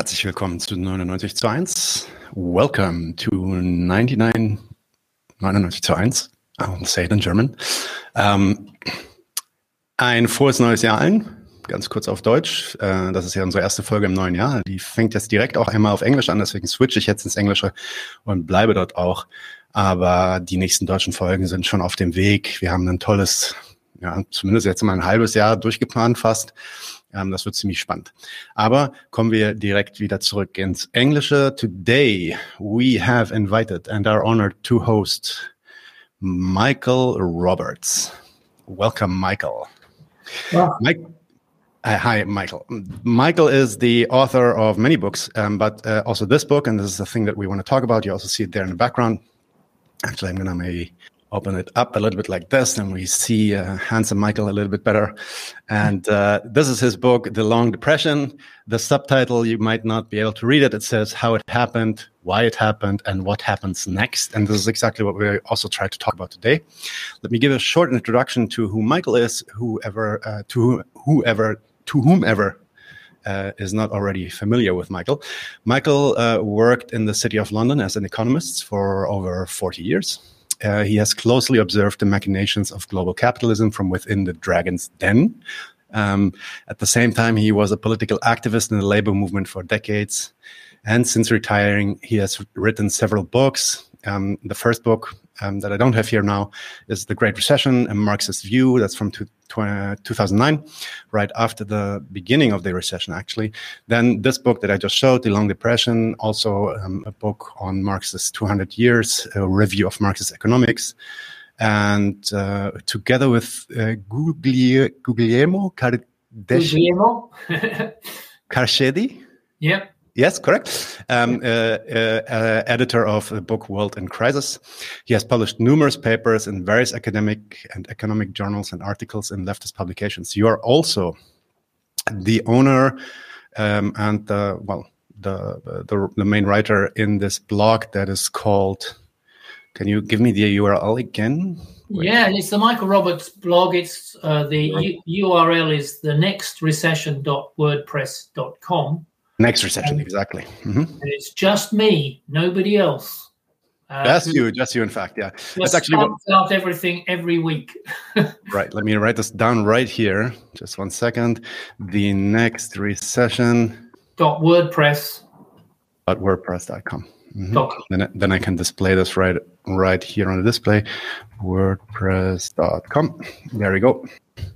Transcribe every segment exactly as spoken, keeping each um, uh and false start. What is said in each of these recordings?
Herzlich willkommen zu neunundneunzig zu eins. Welcome to ninety-nine, neunundneunzig zu eins. I'll say it in German. Ähm, ein frohes neues Jahr allen. Ganz kurz auf Deutsch. Äh, das ist ja unsere erste Folge im neuen Jahr. Die fängt jetzt direkt auch einmal auf Englisch an, deswegen switche ich jetzt ins Englische und bleibe dort auch. Aber die nächsten deutschen Folgen sind schon auf dem Weg. Wir haben ein tolles, ja, zumindest jetzt mal ein halbes Jahr durchgeplant fast. Um, das wird ziemlich spannend. Aber kommen wir direkt wieder zurück ins Englische. Today we have invited and are honored to host Michael Roberts. Welcome, Michael. Yeah. Mike, uh, hi, Michael. Michael is the author of many books, um, but uh, also this book, and this is the thing that we want to talk about. You also see it there in the background. Actually, I'm going to maybe open it up a little bit like this, and we see uh, handsome Michael a little bit better. And uh, this is his book, The Long Depression. The subtitle, you might not be able to read it. It says how it happened, why it happened, and what happens next. And this is exactly what we also try to talk about today. Let me give a short introduction to who Michael is, whoever, uh, to whoever, to whomever Uh, is not already familiar with Michael. Michael uh, worked in the City of London as an economist for over forty years. Uh, he has closely observed the machinations of global capitalism from within the dragon's den. Um, at the same time, he was a political activist in the labor movement for decades. And since retiring, he has written several books. Um, the first book um, that I don't have here now is The Great Recession, A Marxist View. That's from two, two thousand nine, right after the beginning of the recession, actually. Then this book that I just showed, The Long Depression, also um, a book on Marx's two hundred years, a review of Marxist economics. And uh, together with uh, Gugli- Guglielmo Car- Guglielmo? Carcedi? Yep. Yes, correct. Um, uh, uh, uh, editor of the book World in Crisis. He has published numerous papers in various academic and economic journals and articles in leftist publications. You are also the owner um, and the, well, the, the the main writer in this blog that is called. Can you give me the U R L again? Wait. Yeah, it's the Michael Roberts blog. It's uh, the U- URL is the next recession dot wordpress dot com. Next Recession, exactly. Mm-hmm. And it's just me, nobody else. Uh, just you, just you, in fact, yeah. That's actually what out everything every week. Right, let me write this down right here. Just one second. The Next Recession. Dot WordPress. Dot WordPress dot com. Mm-hmm. Then, then I can display this right, right here on the display. WordPress dot com. There we go.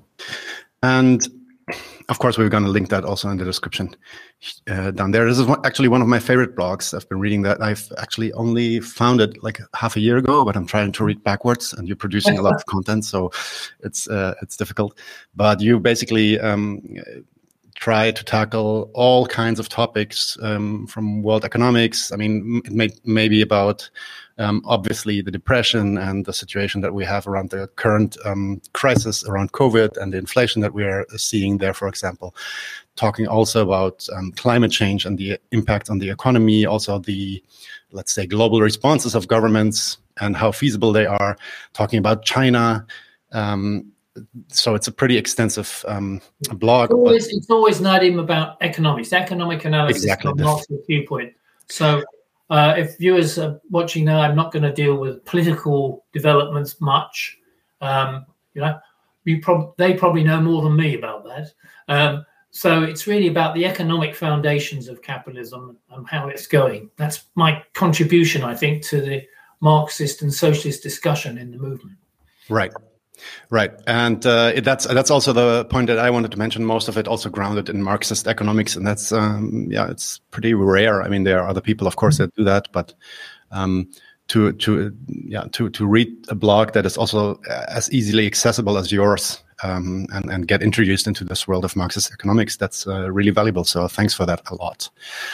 And of course, we're going to link that also in the description uh, down there. This is one, actually one of my favorite blogs. I've been reading that. I've actually only found it like half a year ago, but I'm trying to read backwards, and you're producing a lot of content, so it's uh, it's difficult. But you basically um, try to tackle all kinds of topics um, from world economics. I mean, it may, may be about Um, obviously the depression and the situation that we have around the current um, crisis around COVID and the inflation that we are seeing there, for example. Talking also about um, climate change and the impact on the economy, also the, let's say, global responses of governments and how feasible they are. Talking about China. Um, so it's a pretty extensive um, blog. It's always, it's always not even about economics, economic analysis exactly from Marxist viewpoint. So Uh, if viewers are watching now, I'm not going to deal with political developments much. Um, you know, you prob- they probably know more than me about that. Um, so it's really about the economic foundations of capitalism and how it's going. That's my contribution, I think, to the Marxist and socialist discussion in the movement. Right. Right, and uh, it, that's that's also the point that I wanted to mention. Most of it also grounded in Marxist economics, and that's um, yeah, it's pretty rare. I mean, there are other people, of course, that do that, but um, to to yeah to to read a blog that is also as easily accessible as yours um, and and get introduced into this world of Marxist economics, that's uh, really valuable. So thanks for that a lot.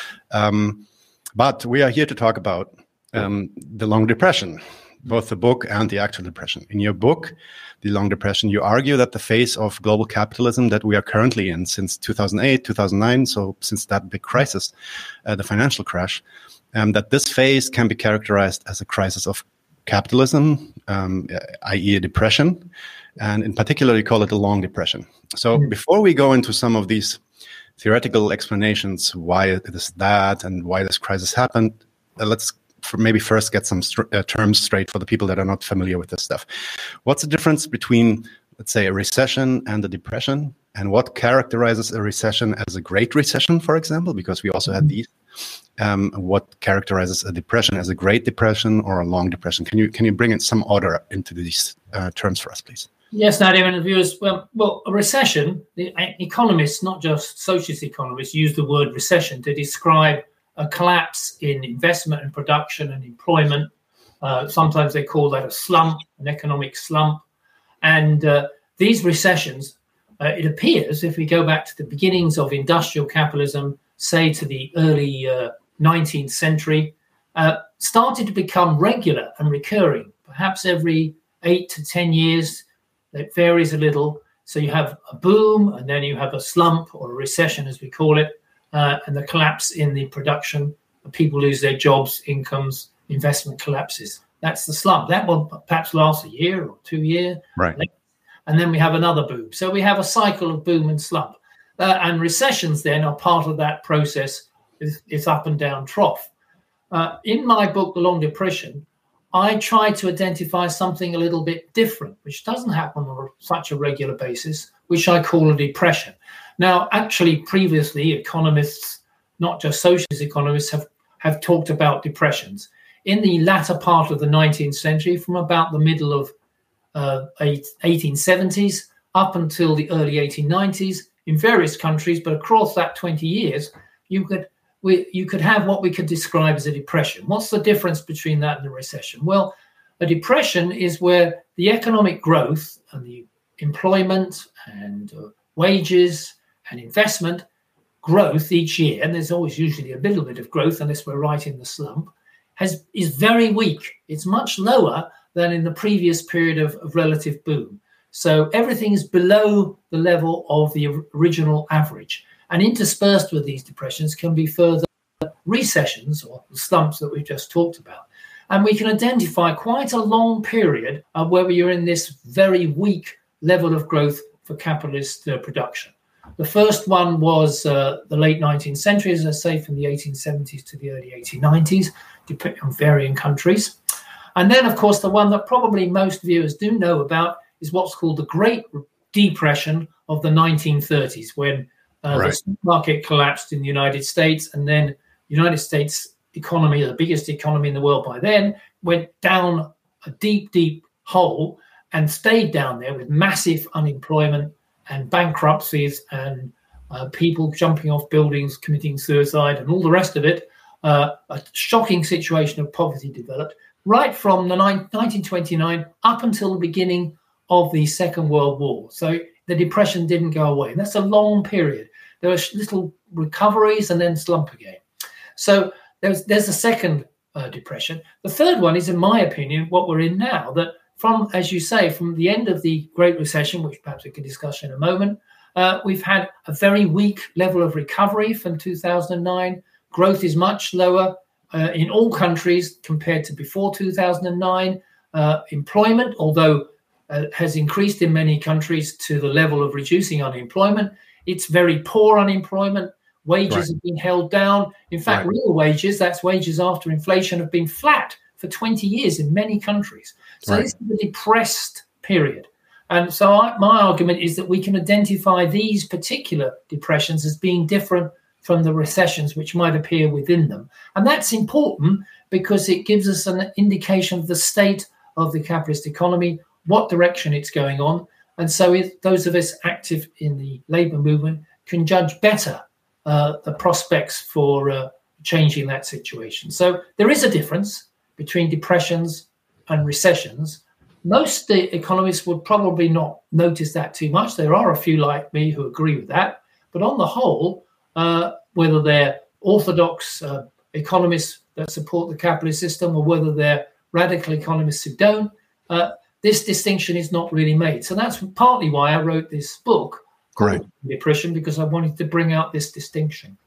Um, but we are here to talk about um, the Long Depression. Both the book and the actual depression. In your book, The Long Depression, you argue that the phase of global capitalism that we are currently in since two thousand eight, two thousand nine, so since that big crisis, uh, the financial crash, um, that this phase can be characterized as a crisis of capitalism, um, that is a depression, and in particular, you call it the Long Depression. So mm-hmm. before we go into some of these theoretical explanations why it is that and why this crisis happened, uh, let's for maybe first get some st- uh, terms straight for the people that are not familiar with this stuff. What's the difference between, let's say, a recession and a depression? And what characterizes a recession as a Great Recession, for example, because we also had these? Um, what characterizes a depression as a Great Depression or a Long Depression? Can you can you bring in some order into these uh, terms for us, please? Yes, Nadia, and the viewers. Well, well, a recession. The economists, not just socialist economists, use the word recession to describe a collapse in investment and production and employment. Uh, sometimes they call that a slump, an economic slump. And uh, these recessions, uh, it appears, if we go back to the beginnings of industrial capitalism, say to the early uh, nineteenth century, uh, started to become regular and recurring, perhaps every eight to ten years. It varies a little. So you have a boom, and then you have a slump or a recession, as we call it, uh, and the collapse in the production. People lose their jobs, incomes, investment collapses. That's the slump. That will perhaps last a year or two years. Right. And then we have another boom. So we have a cycle of boom and slump. Uh, and recessions then are part of that process. It's, it's up and down trough. Uh, in my book, The Long Depression, I try to identify something a little bit different, which doesn't happen on such a regular basis, which I call a depression. Now, actually, previously, economists, not just socialist economists, have, have talked about depressions. In the latter part of the nineteenth century, from about the middle of uh, eighteen seventies up until the early eighteen nineties, in various countries, but across that twenty years, you could we, you could have what we could describe as a depression. What's the difference between that and a recession? Well, a depression is where the economic growth and the employment and uh, wages and investment growth each year, and there's always usually a little bit of growth unless we're right in the slump, has is very weak. It's much lower than in the previous period of, of relative boom. So everything is below the level of the original average. And interspersed with these depressions can be further recessions or slumps that we've just talked about. And we can identify quite a long period of where you're in this very weak level of growth for capitalist uh, production. The first one was uh, the late nineteenth century, as I say, from the eighteen seventies to the early eighteen nineties, depending on varying countries. And then, of course, the one that probably most viewers do know about is what's called the Great Depression of the nineteen thirties, when uh, right. the stock market collapsed in the United States, and then the United States economy, the biggest economy in the world by then, went down a deep, deep hole and stayed down there with massive unemployment and bankruptcies and uh, people jumping off buildings, committing suicide, and all the rest of it. Uh, a shocking situation of poverty developed right from the nineteen twenty-nine up until the beginning of the Second World War. So the depression didn't go away. And that's a long period. There were little recoveries and then slump again. So there's there's a second uh, depression. The third one is, in my opinion, what we're in now, that from, as you say, from the end of the Great Recession, which perhaps we can discuss in a moment, uh, we've had a very weak level of recovery from two thousand nine. Growth is much lower uh, in all countries compared to before two thousand nine. Uh, employment, although uh, has increased in many countries to the level of reducing unemployment, it's very poor unemployment. Wages right. have been held down. In fact, right. real wages, that's wages after inflation, have been flat for twenty years in many countries. So right. this is a depressed period. And so I, my argument is that we can identify these particular depressions as being different from the recessions which might appear within them. And that's important because it gives us an indication of the state of the capitalist economy, what direction it's going on. And so if those of us active in the labour movement can judge better uh, the prospects for uh, changing that situation. So there is a difference between depressions and recessions. Most the economists would probably not notice that too much. There are a few like me who agree with that. But on the whole, uh, whether they're orthodox uh, economists that support the capitalist system or whether they're radical economists who don't, uh, this distinction is not really made. So that's partly why I wrote this book, Correct. Depression, because I wanted to bring out this distinction.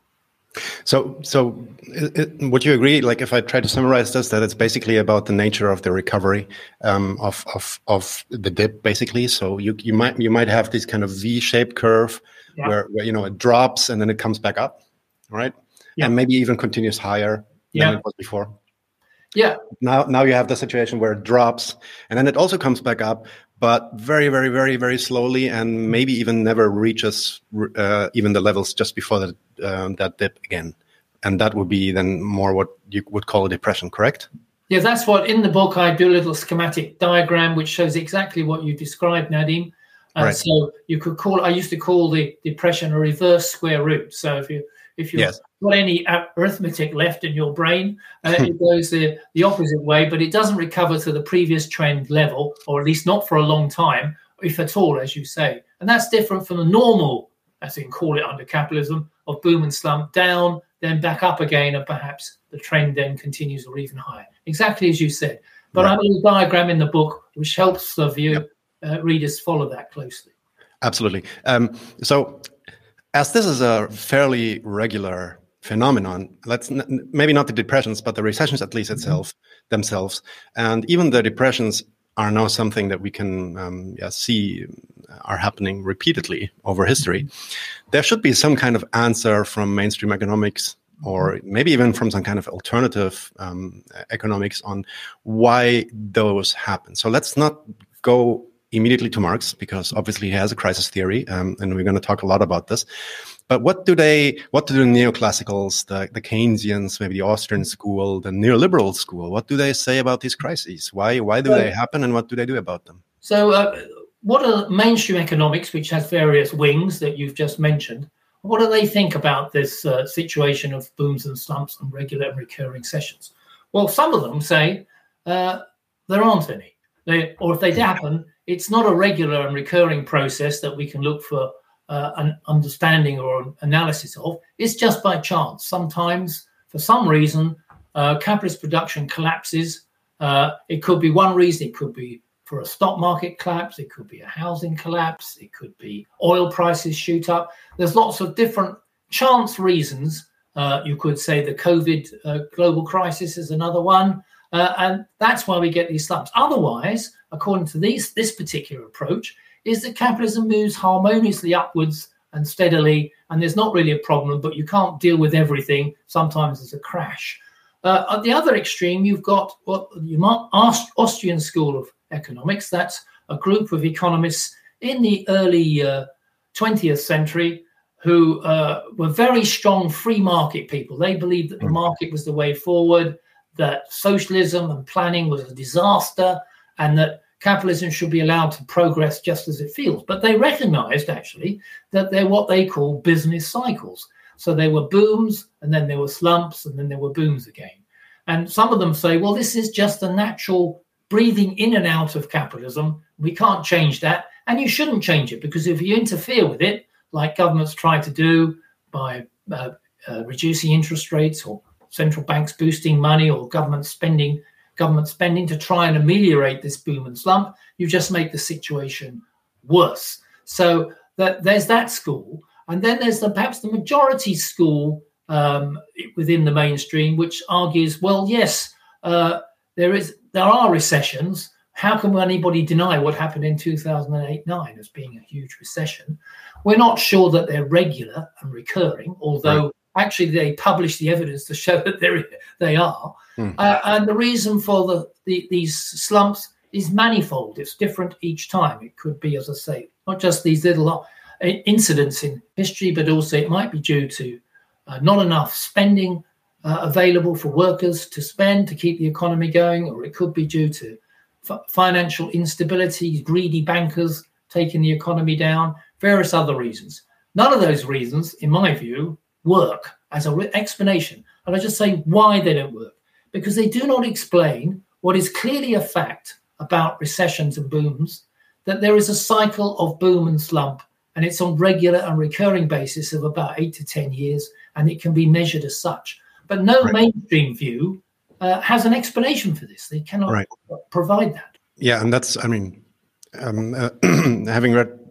So, so it, it, would you agree? Like, if I try to summarize this, that it's basically about the nature of the recovery um, of of of the dip, basically. So you you might you might have this kind of V-shaped curve yeah. where, where you know it drops and then it comes back up, right? Yeah. And maybe even continues higher yeah. than it was before. Yeah. Now, now you have the situation where it drops and then it also comes back up, but very, very, very, very slowly, and maybe even never reaches uh, even the levels just before that uh, that dip again. And that would be then more what you would call a depression, correct? Yeah, that's what in the book I do a little schematic diagram which shows exactly what you described, Nadim. And right. so you could call. I used to call the depression a reverse square root. So if you if you've yes. got any arithmetic left in your brain, uh, it goes the, the opposite way, but it doesn't recover to the previous trend level, or at least not for a long time, if at all, as you say. And that's different from the normal, as you can call it under capitalism, of boom and slump, down, then back up again, and perhaps the trend then continues or even higher. Exactly as you said. But right. I have a little diagram in the book which helps the view yep. uh, readers follow that closely. Absolutely. Um, so as this is a fairly regular phenomenon, let's n- maybe not the depressions, but the recessions at least itself mm-hmm. themselves, and even the depressions are now something that we can um, yeah, see are happening repeatedly over history. There should be some kind of answer from mainstream economics, or maybe even from some kind of alternative um, economics, on why those happen. So let's not go immediately to Marx, because obviously he has a crisis theory, um, and we're going to talk a lot about this. But what do they, what do the neoclassicals, the, the Keynesians, maybe the Austrian school, the neoliberal school, what do they say about these crises? Why, why do so, they happen, and what do they do about them? So uh, what are mainstream economics, which has various wings that you've just mentioned, what do they think about this uh, situation of booms and slumps and regular and recurring sessions? Well, some of them say uh, there aren't any. They, or if they happen, it's not a regular and recurring process that we can look for uh, an understanding or an analysis of. It's just by chance. Sometimes, for some reason, uh, capitalist production collapses. Uh, it could be one reason. It could be for a stock market collapse. It could be a housing collapse. It could be oil prices shoot up. There's lots of different chance reasons. Uh, you could say the COVID uh, global crisis is another one. Uh, and that's why we get these slumps. Otherwise, according to these, this particular approach, is that capitalism moves harmoniously upwards and steadily, and there's not really a problem, but you can't deal with everything. Sometimes there's a crash. Uh, at the other extreme, you've got what you might Aust- Austrian School of Economics. That's a group of economists in the early uh, twentieth century who uh, were very strong free market people. They believed that the market was the way forward, that socialism and planning was a disaster, and that capitalism should be allowed to progress just as it feels. But they recognized, actually, that they're what they call business cycles. So there were booms, and then there were slumps, and then there were booms again. And some of them say, well, this is just a natural breathing in and out of capitalism. We can't change that, and you shouldn't change it, because if you interfere with it, like governments try to do by uh, uh, reducing interest rates, or central banks boosting money, or government spending, government spending to try and ameliorate this boom and slump, you just make the situation worse. So that there's that school. And then there's the, perhaps the majority school um, within the mainstream, which argues, well, yes, uh, there is there are recessions. How can anybody deny what happened in two thousand eight nine as being a huge recession? We're not sure that they're regular and recurring, although right. Actually, they publish the evidence to show that they're, they are. Mm. Uh, and the reason for the, the these slumps is manifold. It's different each time. It could be, as I say, not just these little incidents in history, but also it might be due to uh, not enough spending uh, available for workers to spend to keep the economy going, or it could be due to f- financial instability, greedy bankers taking the economy down, various other reasons. None of those reasons, in my view, work as an re- explanation. And I just say why they don't work. Because they do not explain what is clearly a fact about recessions and booms, that there is a cycle of boom and slump, and it's on regular and recurring basis of about eight to ten years, and it can be measured as such. But no right. mainstream view uh, has an explanation for this. They cannot right. provide that. Yeah, and that's, I mean, um, uh, having read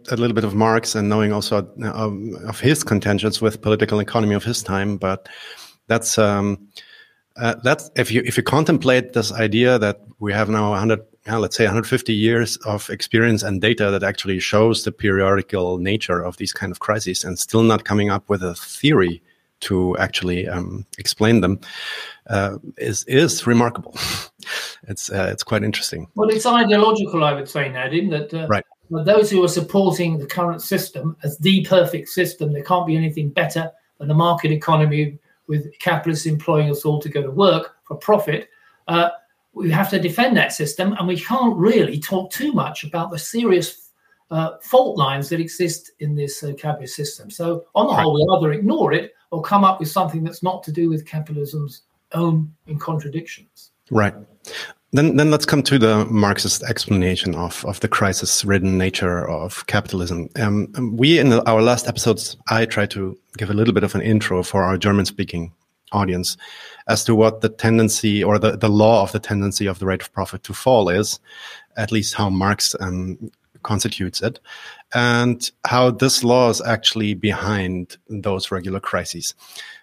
a little bit of Marx and knowing also um, of his contentions with political economy of his time, but that's um, uh, that's if you if you contemplate this idea that we have now one hundred, yeah, let's say one hundred fifty years of experience and data that actually shows the periodical nature of these kind of crises, and still not coming up with a theory to actually um, explain them, uh, is is remarkable. It's uh, it's quite interesting. Well, it's ideological, I would say, Nadim, that uh, right. those who are supporting the current system as the perfect system, there can't be anything better than a market economy with capitalists employing us all to go to work for profit. Uh, we have to defend that system, and we can't really talk too much about the serious uh, fault lines that exist in this uh, capitalist system. So on the right. whole, we'll either ignore it or come up with something that's not to do with capitalism's own in contradictions. Right. Then then let's come to the Marxist explanation of, of the crisis-ridden nature of capitalism. Um, we, in the, our last episodes, I tried to give a little bit of an intro for our German-speaking audience as to what the tendency or the, the law of the tendency of the rate of profit to fall is, at least how Marx um, constitutes it, and how this law is actually behind those regular crises.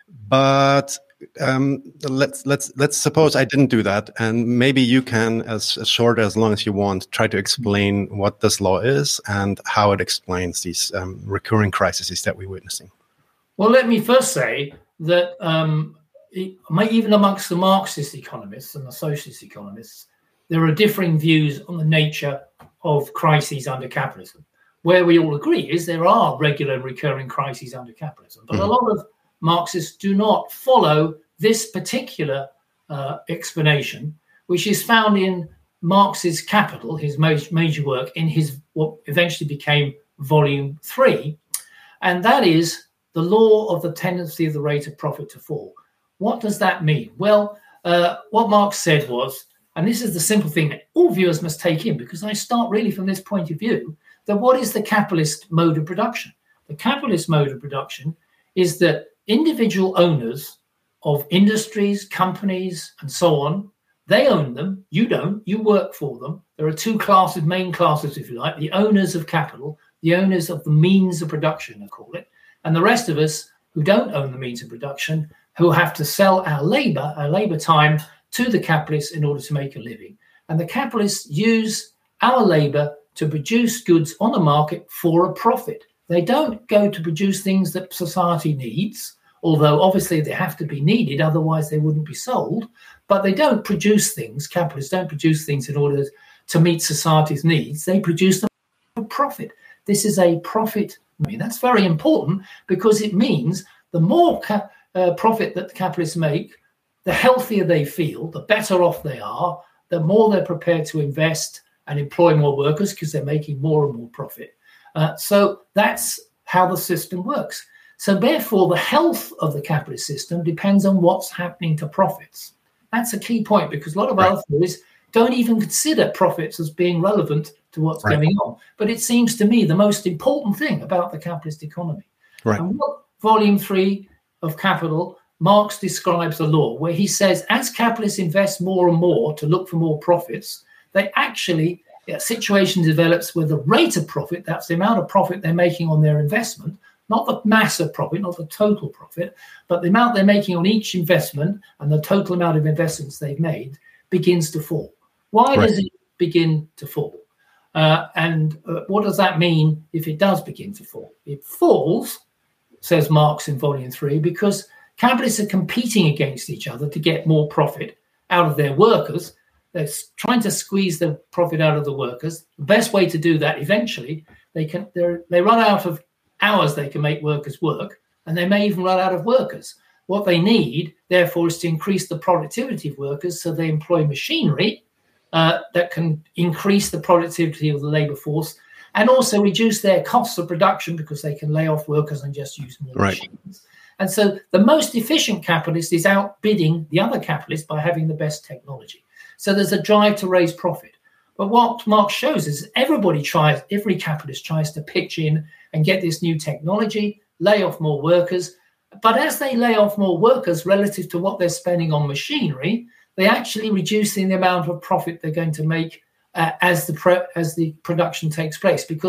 But um, let's let's let's suppose I didn't do that, and maybe you can, as, as short as long as you want, try to explain what this law is and how it explains these um, recurring crises that we're witnessing. Well, let me first say that um, it, even amongst the Marxist economists and the socialist economists, there are differing views on the nature of crises under capitalism. Where we all agree is there are regular and recurring crises under capitalism, but mm-hmm. a lot of Marxists do not follow this particular uh, explanation, which is found in Marx's Capital, his major, major work, in his what eventually became Volume Three, and that is the law of the tendency of the rate of profit to fall. What does that mean? Well, uh, what Marx said was, and this is the simple thing that all viewers must take in, because I start really from this point of view, that what is the capitalist mode of production? The capitalist mode of production is that individual owners of industries, companies, and so on, they own them. You don't. You work for them. There are two classes, main classes, if you like, the owners of capital, the owners of the means of production, I call it, and the rest of us who don't own the means of production, who have to sell our labor, our labor time, to the capitalists in order to make a living. And the capitalists use our labor to produce goods on the market for a profit. They don't go to produce things that society needs, although obviously they have to be needed, otherwise they wouldn't be sold. But they don't produce things, capitalists don't produce things in order to meet society's needs. They produce them for profit. This is a profit. I mean, that's very important because it means the more ca- uh, profit that the capitalists make, the healthier they feel, the better off they are, the more they're prepared to invest and employ more workers because they're making more and more profit. Uh, so that's how the system works. So therefore, the health of the capitalist system depends on what's happening to profits. That's a key point because a lot of right. other theories don't even consider profits as being relevant to what's right. going on. But it seems to me the most important thing about the capitalist economy. Right. And what Volume Three of Capital, Marx describes a law where he says as capitalists invest more and more to look for more profits, they actually, a situation develops where the rate of profit, that's the amount of profit they're making on their investment, not the mass of profit, not the total profit, but the amount they're making on each investment and the total amount of investments they've made begins to fall. Why right. does it begin to fall? Uh, and uh, what does that mean if it does begin to fall? It falls, says Marx in Volume Three, because capitalists are competing against each other to get more profit out of their workers. They're trying to squeeze the profit out of the workers. The best way to do that, eventually, they can they run out of hours they can make workers work, and they may even run out of workers. What they need, therefore, is to increase the productivity of workers, so they employ machinery uh, that can increase the productivity of the labour force and also reduce their costs of production because they can lay off workers and just use more right. machines. And so the most efficient capitalist is outbidding the other capitalists by having the best technology. So there's a drive to raise profit. But what Marx shows is everybody tries, every capitalist tries to pitch in and get this new technology, lay off more workers. But as they lay off more workers relative to what they're spending on machinery, they're actually reducing the amount of profit they're going to make uh, as the pro- as the production takes place, because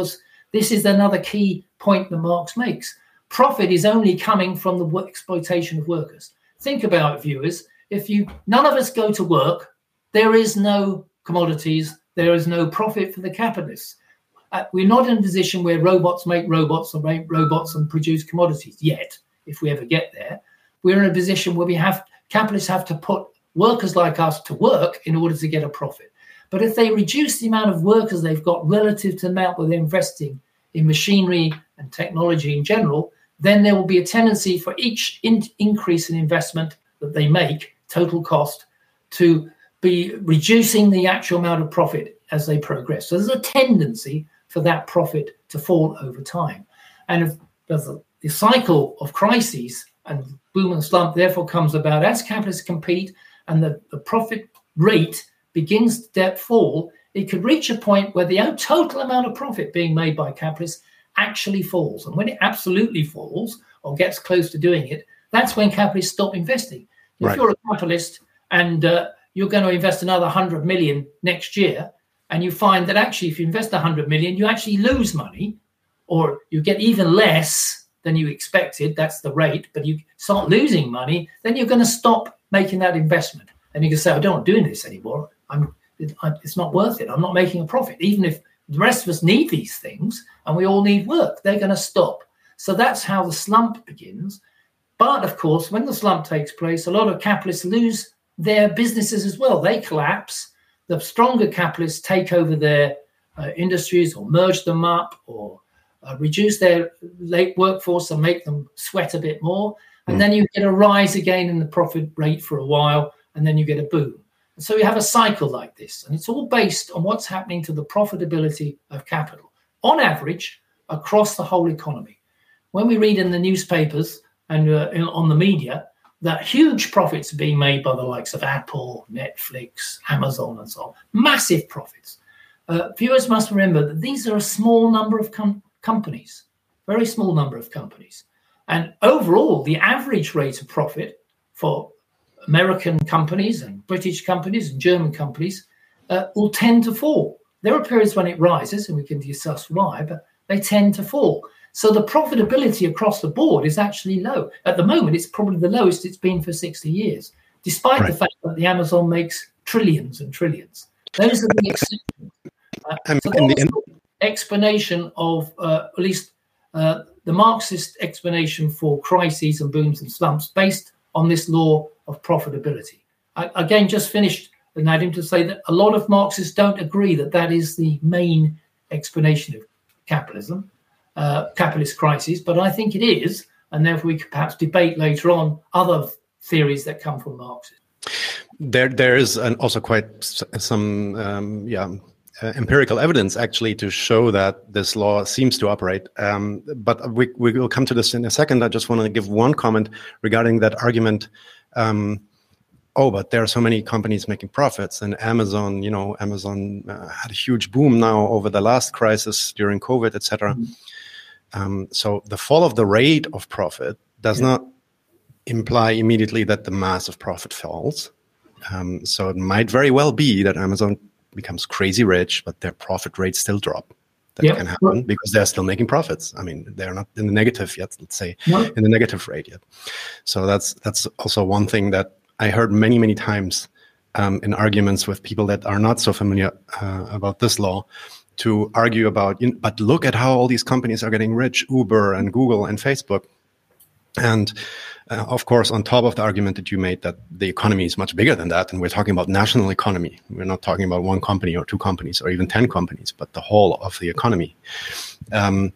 This is another key point that Marx makes. Profit is only coming from the exploitation of workers. Think about it, viewers. If you, none of us go to work, there is no commodities, there is no profit for the capitalists. Uh, we're not in a position where robots make robots or make robots and produce commodities yet, if we ever get there. We're in a position where we have, capitalists have to put workers like us to work in order to get a profit. But if they reduce the amount of workers they've got relative to the amount that they're investing in machinery and technology in general, then there will be a tendency for each in- increase in investment that they make, total cost, to be reducing the actual amount of profit as they progress. So there's a tendency for that profit to fall over time. And if the, the cycle of crises and boom and slump therefore comes about as capitalists compete and the, the profit rate begins to fall, it could reach a point where the total amount of profit being made by capitalists actually falls. And when it absolutely falls or gets close to doing it, that's when capitalists stop investing. If right. you're a capitalist and uh, you're going to invest another one hundred million next year, and you find that actually if you invest one hundred million, you actually lose money, or you get even less than you expected, that's the rate, but you start losing money, then you're going to stop making that investment. And you can say, I don't want to do this anymore. I'm, it's not worth it. I'm not making a profit. Even if the rest of us need these things and we all need work, they're going to stop. So that's how the slump begins. But of course, when the slump takes place, a lot of capitalists lose their businesses as well. They collapse. The stronger capitalists take over their uh, industries or merge them up or uh, reduce their late workforce and make them sweat a bit more. And mm. then you get a rise again in the profit rate for a while, and then you get a boom. And so you have a cycle like this, and it's all based on what's happening to the profitability of capital, on average, across the whole economy. When we read in the newspapers and uh, in, on the media that huge profits are being made by the likes of Apple, Netflix, Amazon, and so on, massive profits. Uh, viewers must remember that these are a small number of com- companies, very small number of companies. And overall, the average rate of profit for American companies and British companies and German companies uh, will tend to fall. There are periods when it rises, and we can discuss why, but they tend to fall. So the profitability across the board is actually low. At the moment, it's probably the lowest it's been for sixty years, despite right. the fact that the Amazon makes trillions and trillions. Those are the exceptions. Uh, so that's the end- explanation of, uh, at least uh, the Marxist explanation for crises and booms and slumps based on this law of profitability. I, again, just finished, Nadim, to say that a lot of Marxists don't agree that that is the main explanation of capitalism. Uh, capitalist crises, but I think it is, and therefore we could perhaps debate later on other theories that come from Marxism. There, there is an also quite some, um, yeah, uh, empirical evidence actually to show that this law seems to operate. Um, but we we will come to this in a second. I just want to give one comment regarding that argument. Um, oh, but there are so many companies making profits, and Amazon, you know, Amazon uh, had a huge boom now over the last crisis during COVID, et cetera. Mm-hmm. Um, so the fall of the rate of profit does yeah. not imply immediately that the mass of profit falls. Um, so it might very well be that Amazon becomes crazy rich, but their profit rates still drop. That yep. can happen because they're still making profits. I mean, they're not in the negative yet, let's say, no. in the negative rate yet. So that's that's also one thing that I heard many, many times um, in arguments with people that are not so familiar uh, about this law, to argue about, you know, but look at how all these companies are getting rich, Uber and Google and Facebook. And uh, of course, on top of the argument that you made that the economy is much bigger than that, and we're talking about national economy. We're not talking about one company or two companies or even ten companies, but the whole of the economy. Um,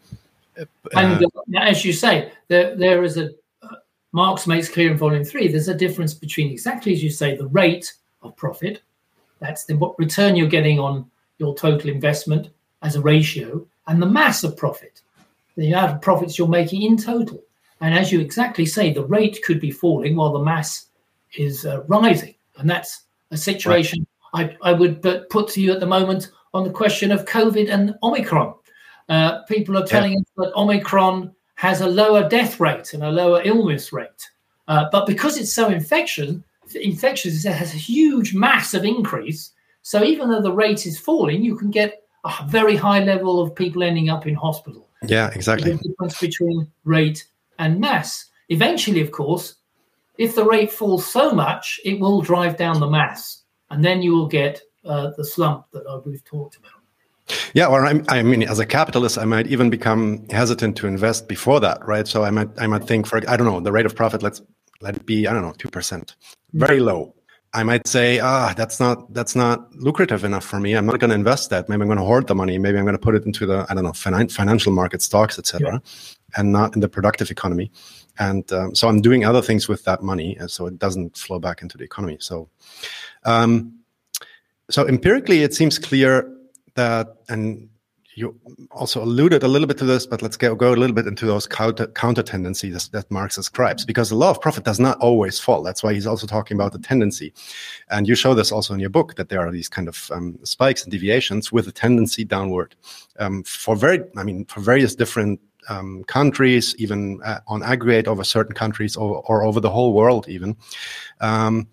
and uh, as you say, there, there is a, uh, Marx makes clear in volume three, there's a difference between exactly as you say, the rate of profit, that's the what return you're getting on your total investment as a ratio, and the mass of profit, the amount of profits you're making in total. And as you exactly say, the rate could be falling while the mass is uh, rising. And that's a situation right. I, I would put to you at the moment on the question of COVID and Omicron. Uh, people are telling yeah. us that Omicron has a lower death rate and a lower illness rate. Uh, but because it's so infectious, infectious, it has a huge, massive increase. So even though the rate is falling, you can get a very high level of people ending up in hospital. Yeah, exactly. The difference between rate and mass. Eventually, of course, if the rate falls so much, it will drive down the mass, and then you will get uh, the slump that uh, we've talked about. Yeah, or I, I mean, as a capitalist, I might even become hesitant to invest before that, right? So I might, I might think, for I don't know, the rate of profit. Let's let it be, I don't know, two percent, very low. I might say, ah, that's not that's not lucrative enough for me. I'm not going to invest that. Maybe I'm going to hoard the money. Maybe I'm going to put it into the, I don't know, finan- financial market, stocks, et cetera, yeah. and not in the productive economy. And um, so I'm doing other things with that money, and so it doesn't flow back into the economy. So, um, so empirically, it seems clear that, and you also alluded a little bit to this, but let's go, go a little bit into those counter, counter tendencies that Marx describes, because the law of profit does not always fall. That's why he's also talking about the tendency. And you show this also in your book, that there are these kind of um, spikes and deviations with a tendency downward um, for very, I mean, for various different um, countries, even uh, on aggregate over certain countries or, or over the whole world even. Um,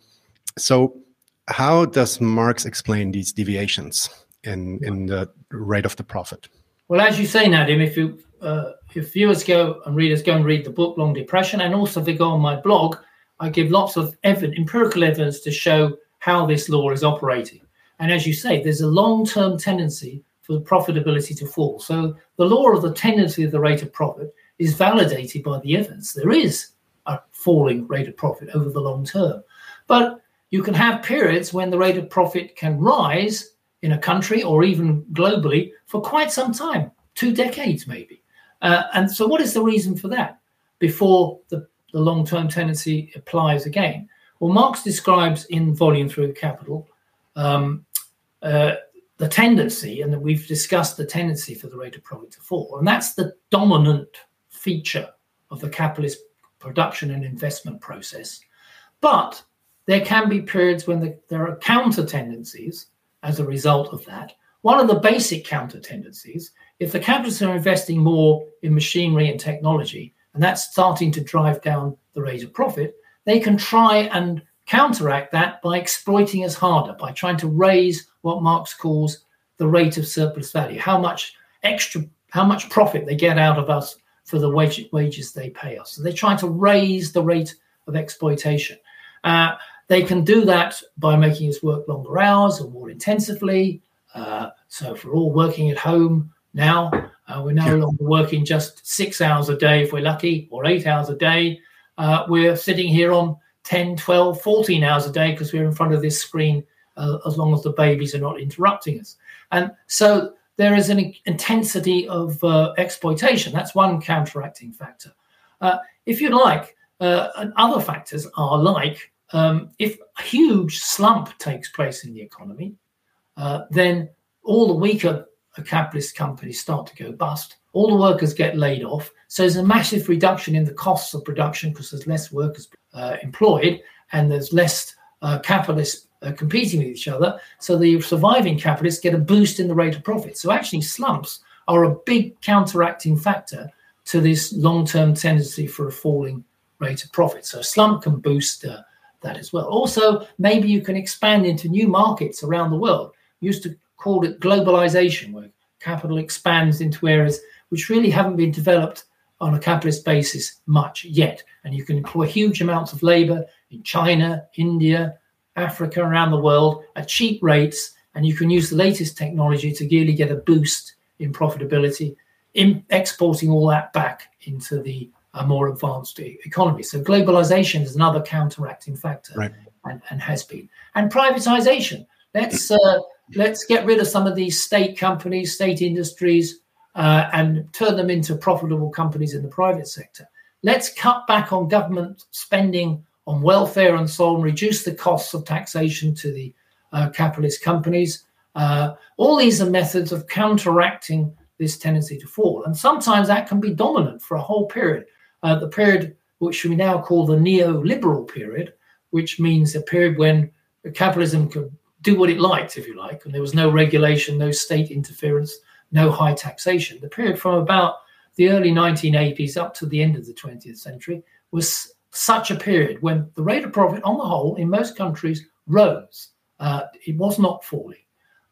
so how does Marx explain these deviations in in the rate of the profit? Well, as you say, Nadim, if you uh, if viewers go and readers go and read the book Long Depression, and also if they go on my blog, I give lots of evidence, empirical evidence to show how this law is operating. And as you say, there's a long-term tendency for the profitability to fall. So the law of the tendency of the rate of profit is validated by the evidence. There is a falling rate of profit over the long term. But you can have periods when the rate of profit can rise in a country or even globally for quite some time, two decades maybe. Uh, and so what is the reason for that before the, the long-term tendency applies again? Well, Marx describes in Volume Three of Capital um, uh, the tendency, and we've discussed the tendency for the rate of profit to fall. And that's the dominant feature of the capitalist production and investment process. But there can be periods when the, there are counter tendencies as a result of that. One of the basic counter tendencies, if the capitalists are investing more in machinery and technology, and that's starting to drive down the rate of profit, they can try and counteract that by exploiting us harder, by trying to raise what Marx calls the rate of surplus value, how much extra, how much profit they get out of us for the wage, wages they pay us. So they're trying to raise the rate of exploitation. Uh, they can do that by making us work longer hours or more intensively. Uh, so if we're all working at home now, uh, we're no longer working just six hours a day if we're lucky, or eight hours a day. Uh, we're sitting here on ten, twelve, fourteen hours a day because we're in front of this screen uh, as long as the babies are not interrupting us. And so there is an intensity of uh, exploitation. That's one counteracting factor. Uh, if you like, uh, other factors are like um, if a huge slump takes place in the economy, uh, then all the weaker capitalist companies start to go bust. All the workers get laid off. So there's a massive reduction in the costs of production because there's less workers uh, employed and there's less uh, capitalists uh, competing with each other. So the surviving capitalists get a boost in the rate of profit. So actually slumps are a big counteracting factor to this long-term tendency for a falling rate of profit. So a slump can boost uh, that as well. Also, maybe you can expand into new markets around the world. We used to call it globalization, where capital expands into areas which really haven't been developed on a capitalist basis much yet. And you can employ huge amounts of labor in China, India, Africa, around the world at cheap rates. And you can use the latest technology to really get a boost in profitability, in exporting all that back into the uh, more advanced e- economy. So globalization is another counteracting factor, right. and, and has been. And privatization. Let's uh, let's get rid of some of these state companies, state industries, uh, and turn them into profitable companies in the private sector. Let's cut back on government spending on welfare and so on, reduce the costs of taxation to the uh, capitalist companies. Uh, all these are methods of counteracting this tendency to fall. And sometimes that can be dominant for a whole period. Uh, the period which we now call the neoliberal period, which means a period when capitalism could do what it liked, if you like, and there was no regulation, no state interference, no high taxation. The period from about the early nineteen eighties up to the end of the twentieth century was such a period when the rate of profit on the whole in most countries rose. Uh, it was not falling.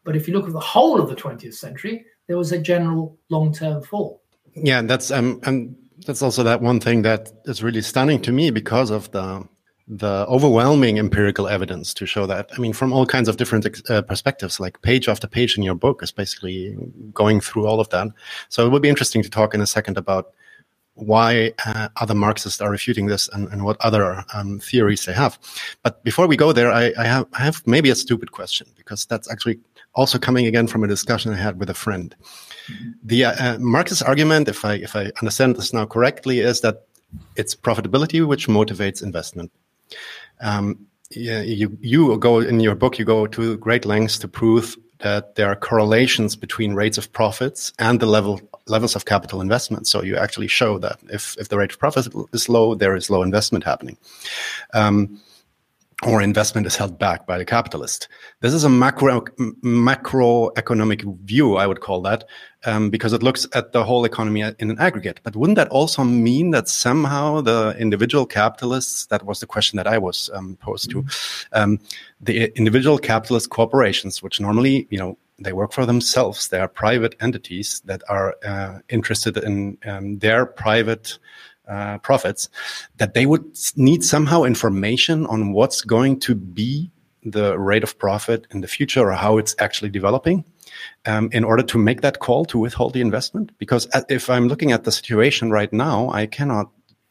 But if you look at the whole of the twentieth century, there was a general long-term fall. Yeah, that's um, and that's also that one thing that is really stunning to me because of the the overwhelming empirical evidence to show that. I mean, from all kinds of different uh, perspectives, like page after page in your book is basically going through all of that. So it will be interesting to talk in a second about why uh, other Marxists are refuting this and, and what other um, theories they have. But before we go there, I, I have I have maybe a stupid question, because that's actually also coming again from a discussion I had with a friend. Mm-hmm. The uh, Marxist argument, if I if I understand this now correctly, is that it's profitability which motivates investment. Um, yeah, you you go in your book, you go to great lengths to prove that there are correlations between rates of profits and the level levels of capital investment. So you actually show that if if the rate of profit is low, there is low investment happening. Um, or investment is held back by the capitalist. This is a macro macroeconomic view, I would call that, um, because it looks at the whole economy in an aggregate. But wouldn't that also mean that somehow the individual capitalists, that was the question that I was um, posed to, um, the individual capitalist corporations, which normally, you know, they work for themselves, they are private entities that are uh, interested in um, their private Uh, profits, that they would need somehow information on what's going to be the rate of profit in the future, or how it's actually developing, um, in order to make that call to withhold the investment. Because if I'm looking at the situation right now, I cannot,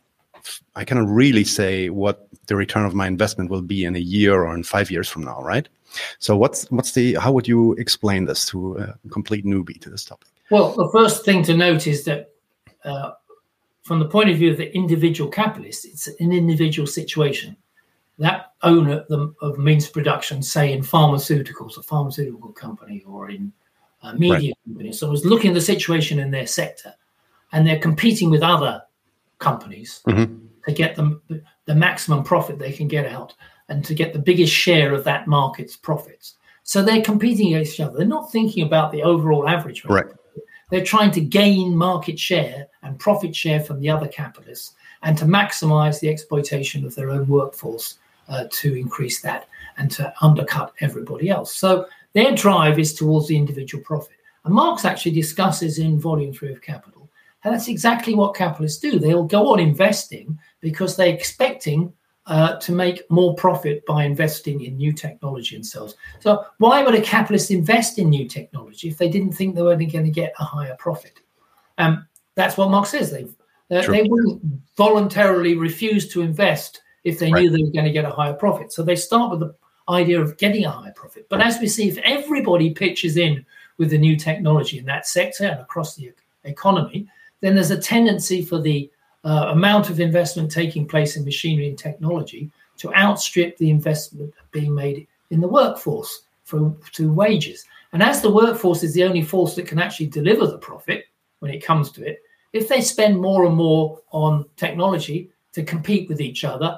I cannot really say what the return of my investment will be in a year or in five years from now, right? So what's what's the how would you explain this to a complete newbie to this topic? Well, the first thing to note is that Uh, from the point of view of the individual capitalist, it's an individual situation. That owner of means production, say in pharmaceuticals, a pharmaceutical company, or in a media right. company, so is looking at the situation in their sector, and they're competing with other companies mm-hmm. to get them the maximum profit they can get out, and to get the biggest share of that market's profits. So they're competing against each other. They're not thinking about the overall average rate. Right. They're trying to gain market share and profit share from the other capitalists, and to maximize the exploitation of their own workforce uh, to increase that and to undercut everybody else. So their drive is towards the individual profit. And Marx actually discusses in Volume three of Capital, and that's exactly what capitalists do. They'll go on investing because they're expecting Uh, to make more profit by investing in new technology themselves. So why would a capitalist invest in new technology if they didn't think they were going to get a higher profit? Um, that's what Marx says. They uh, they wouldn't voluntarily refuse to invest if they right. knew they were going to get a higher profit. So they start with the idea of getting a higher profit. But as we see, if everybody pitches in with the new technology in that sector and across the economy, then there's a tendency for the Uh, amount of investment taking place in machinery and technology to outstrip the investment being made in the workforce for to wages. And as the workforce is the only force that can actually deliver the profit when it comes to it, if they spend more and more on technology to compete with each other,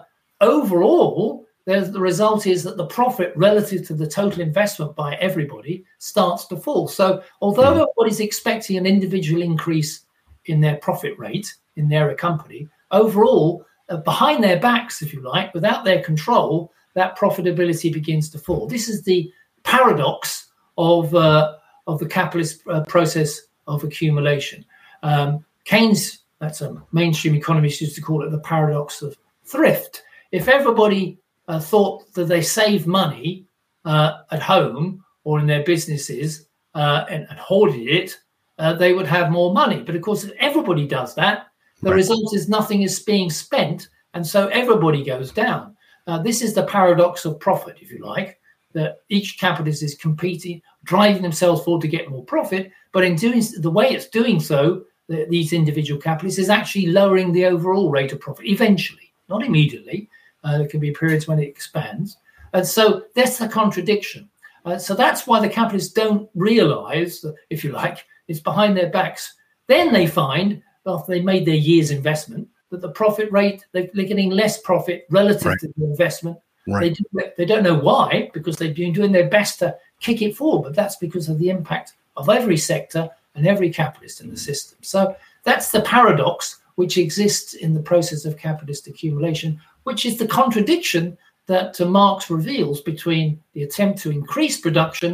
overall, the result is that the profit relative to the total investment by everybody starts to fall. So although everybody's expecting an individual increase in their profit rate in their company, overall, uh, behind their backs, if you like, without their control, that profitability begins to fall. This is the paradox of uh, of the capitalist uh, process of accumulation. Um, Keynes, that's a mainstream economist, used to call it the paradox of thrift. If everybody uh, thought that they save money uh, at home or in their businesses uh, and, and hoarded it, uh, they would have more money. But of course, if everybody does that, the right. result is nothing is being spent, and so everybody goes down. Uh, this is the paradox of profit, if you like, that each capitalist is competing, driving themselves forward to get more profit, but in doing the way it's doing so, the, these individual capitalists is actually lowering the overall rate of profit eventually, not immediately. Uh, there can be periods when it expands. And so that's the contradiction. Uh, so that's why the capitalists don't realize, that, if you like, it's behind their backs. Then they find, after they made their year's investment, that the profit rate, they're getting less profit relative right. to the investment. Right. They, do, they don't know why, because they've been doing their best to kick it forward, but that's because of the impact of every sector and every capitalist in the system. So that's the paradox which exists in the process of capitalist accumulation, which is the contradiction that uh, Marx reveals between the attempt to increase production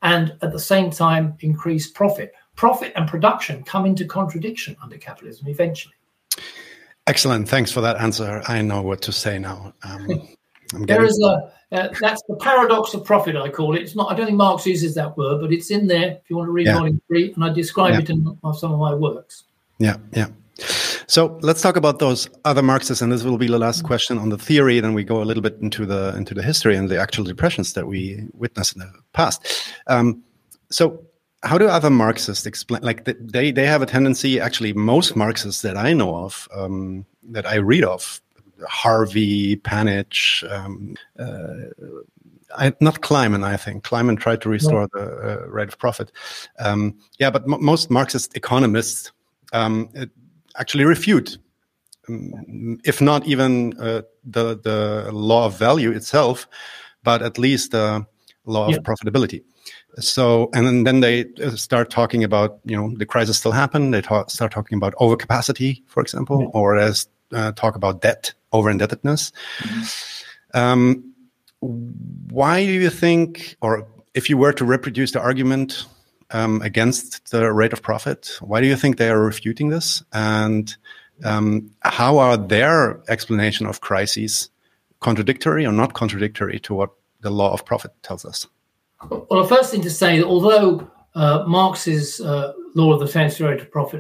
and at the same time increase profit. Profit and production come into contradiction under capitalism eventually. Excellent. Thanks for that answer. I know what to say now. Um, I'm there getting... is a uh, that's the paradox of profit, I call it. It's not. I don't think Marx uses that word, but it's in there if you want to read yeah. volume three, and I describe yeah. it in some of my works. Yeah, yeah. So let's talk about those other Marxists, and this will be the last question on the theory. Then we go a little bit into the into the history and the actual depressions that we witnessed in the past. Um, so, how do other Marxists explain? Like they they have a tendency. Actually, most Marxists that I know of, um, that I read of, Harvey, Panitch, um, uh, I, not Kleiman. I think Kleiman tried to restore no. the uh, rate of profit. Um, yeah, but m- most Marxist economists. Um, it, actually refute, um, if not even uh, the the law of value itself, but at least the law yeah. of profitability. So, and then, then they start talking about, you know, the crisis still happened. They talk, start talking about overcapacity, for example, yeah. or as uh, talk about debt, over indebtedness. Mm-hmm. Um, why do you think, or if you were to reproduce the argument Um, against the rate of profit, why do you think they are refuting this? And um, how are their explanation of crises contradictory or not contradictory to what the law of profit tells us? Well, the first thing to say that although uh, Marx's uh, law of the tendency rate of profit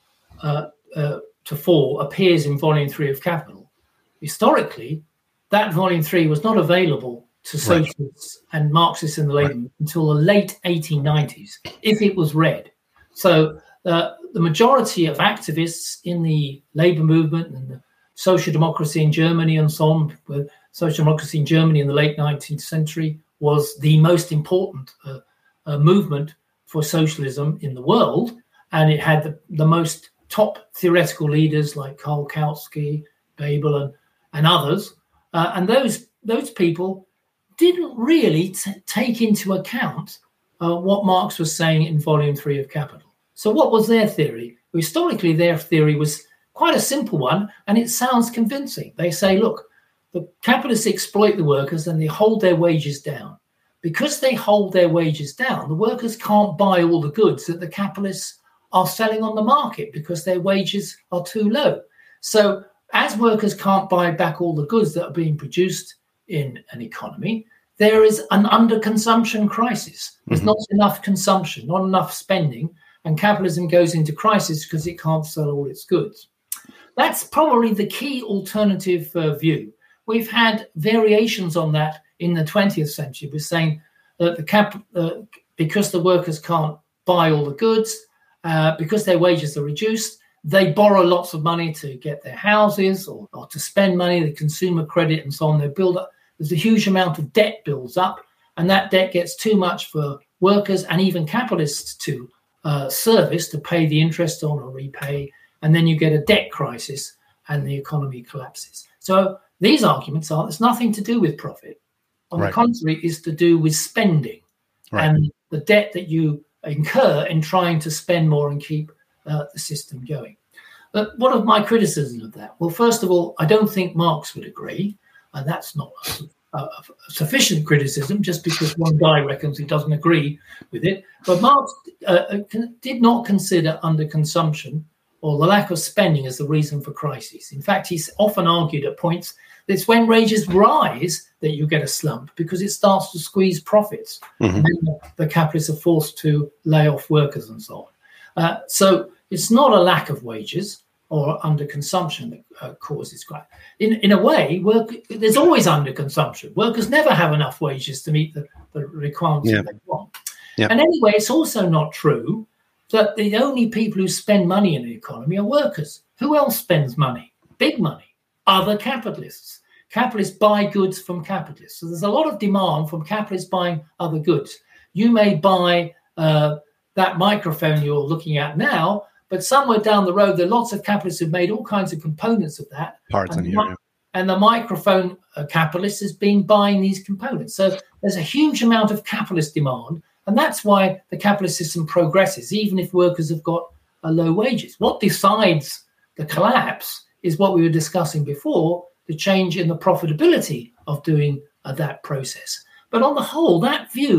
uh, uh, to fall appears in volume three of Capital, historically, that volume three was not available to socialists right. and Marxists in the Labour right. until the late eighteen nineties, if it was read. So uh, the majority of activists in the Labour movement and the social democracy in Germany and so on, with social democracy in Germany in the late nineteenth century was the most important uh, uh, movement for socialism in the world. And it had the, the most top theoretical leaders like Karl Kautsky, Bebel and, and others. Uh, and those those people didn't really t- take into account uh, what Marx was saying in volume three of Capital. So what was their theory? Well, historically, their theory was quite a simple one, and it sounds convincing. They say, look, the capitalists exploit the workers and they hold their wages down. Because they hold their wages down, the workers can't buy all the goods that the capitalists are selling on the market because their wages are too low. So as workers can't buy back all the goods that are being produced in an economy, there is an underconsumption crisis. There's mm-hmm. not enough consumption, not enough spending, and capitalism goes into crisis because it can't sell all its goods. That's probably the key alternative uh, view. We've had variations on that in the twentieth century. We're saying that the cap, uh, because the workers can't buy all the goods, uh, because their wages are reduced, they borrow lots of money to get their houses or, or to spend money, the consumer credit and so on. They build up. There's a huge amount of debt builds up, and that debt gets too much for workers and even capitalists to uh, service, to pay the interest on or repay. And then you get a debt crisis and the economy collapses. So these arguments are, there's nothing to do with profit. On right. the contrary, is to do with spending right. and the debt that you incur in trying to spend more and keep uh, the system going. But what are my criticisms of that? Well, first of all, I don't think Marx would agree, and that's not a, a, a sufficient criticism just because one guy reckons he doesn't agree with it. But Marx uh, did not consider underconsumption or the lack of spending as the reason for crises. In fact, he's often argued at points that it's when wages rise that you get a slump because it starts to squeeze profits. Mm-hmm. And then the, the capitalists are forced to lay off workers and so on. Uh, so it's not a lack of wages or underconsumption that uh, causes crime. In in a way, work, there's always underconsumption. Workers never have enough wages to meet the, the requirements yeah. that they want. Yeah. And anyway, it's also not true that the only people who spend money in the economy are workers. Who else spends money? Big money. Other capitalists. Capitalists buy goods from capitalists. So there's a lot of demand from capitalists buying other goods. You may buy uh, that microphone you're looking at now, but somewhere down the road, there are lots of capitalists who've made all kinds of components of that. Parts in here, the, yeah. And the microphone uh, capitalist has been buying these components. So there's a huge amount of capitalist demand. And that's why the capitalist system progresses, even if workers have got uh, low wages. What decides the collapse is what we were discussing before, the change in the profitability of doing uh, that process. But on the whole, that view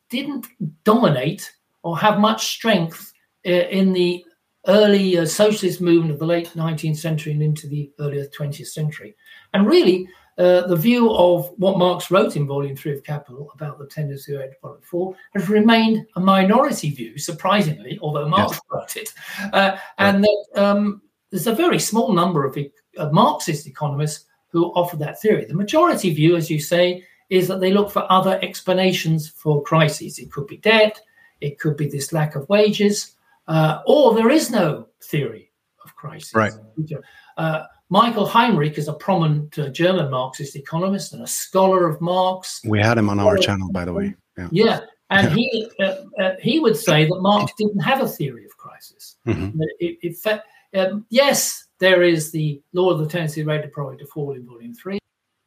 didn't dominate or have much strength in the early uh, socialist movement of the late nineteenth century and into the earlier twentieth century. And really, uh, the view of what Marx wrote in Volume three of Capital about the tendency of to fall has remained a minority view, surprisingly, although Marx yes. wrote it. Uh, and right. that um, there's a very small number of, of Marxist economists who offer that theory. The majority view, as you say, is that they look for other explanations for crises. It could be debt, it could be this lack of wages, uh, or there is no theory of crisis. Right. Uh, Michael Heinrich is a prominent uh, German Marxist economist and a scholar of Marx. We had him on our channel, by the way. Yeah, yeah. and yeah. he uh, uh, he would say that Marx didn't have a theory of crisis. Mm-hmm. It, it, it, um, yes, there is the law of the tendency rate of profit to fall in Volume three,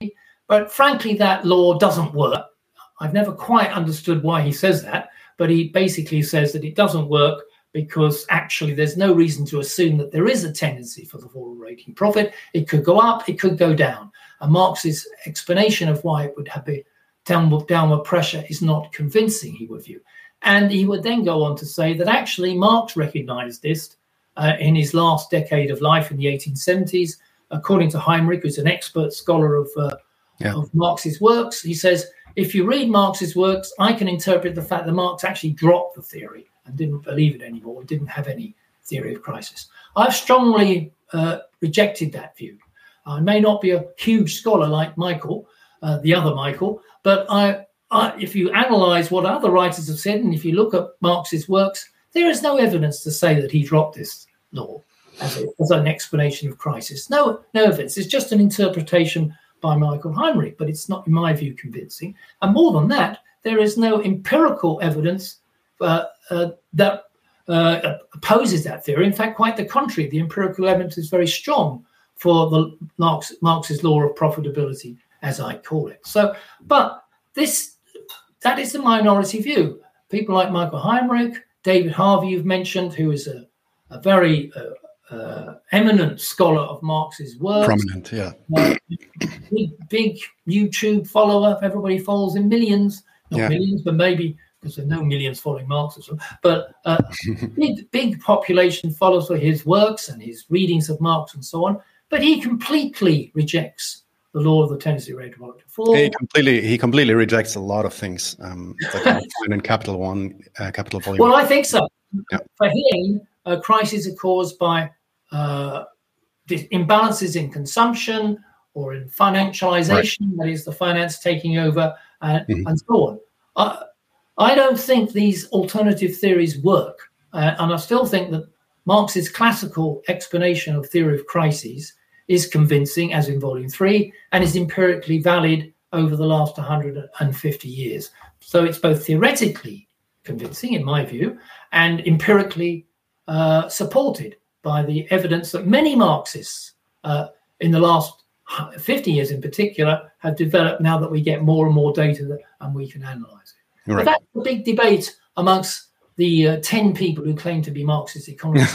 but frankly, that law doesn't work. I've never quite understood why he says that, but he basically says that it doesn't work because actually there's no reason to assume that there is a tendency for the fall rate in profit. It could go up, it could go down. And Marx's explanation of why it would have a downward, downward pressure is not convincing, he would view. And he would then go on to say that actually Marx recognized this uh, in his last decade of life in the eighteen seventies. According to Heinrich, who's an expert scholar of, uh, yeah. of Marx's works, he says, if you read Marx's works, I can interpret the fact that Marx actually dropped the theory and didn't believe it anymore, and didn't have any theory of crisis. I've strongly uh, rejected that view. I may not be a huge scholar like Michael, uh, the other Michael, but I, I, if you analyze what other writers have said, and if you look at Marx's works, there is no evidence to say that he dropped this law as, a, as an explanation of crisis. No, no evidence. It's just an interpretation by Michael Heinrich, but it's not, in my view, convincing. And more than that, there is no empirical evidence uh, uh, that uh, opposes that theory. In fact, quite the contrary. The empirical evidence is very strong for the Marx, Marx's law of profitability, as I call it. So, but this, that is the minority view. People like Michael Heinrich, David Harvey, you've mentioned, who is a, a very uh, uh, eminent scholar of Marx's works. Prominent, yeah. Uh, big, big YouTube follower. Everybody follows in millions, not yeah. millions, but maybe, because there are no millions following Marxism, but uh, big, big population follows for his works and his readings of Marx and so on. But he completely rejects the law of the tendency rate of profit to fall. He completely, he completely rejects a lot of things um, that I find in Capital One, uh, Capital Volume. Well, I think so. Yeah. For him, uh, crises are caused by uh, imbalances in consumption or in financialization, right. that is, the finance taking over, uh, mm-hmm. and so on. Uh, I don't think these alternative theories work, uh, and I still think that Marx's classical explanation of theory of crises is convincing, as in Volume three, and is empirically valid over the last one hundred fifty years. So it's both theoretically convincing, in my view, and empirically uh, supported by the evidence that many Marxists uh, in the last fifty years in particular have developed now that we get more and more data that, and we can analyze it. Right. But that's a big debate amongst the uh, ten people who claim to be Marxist economists.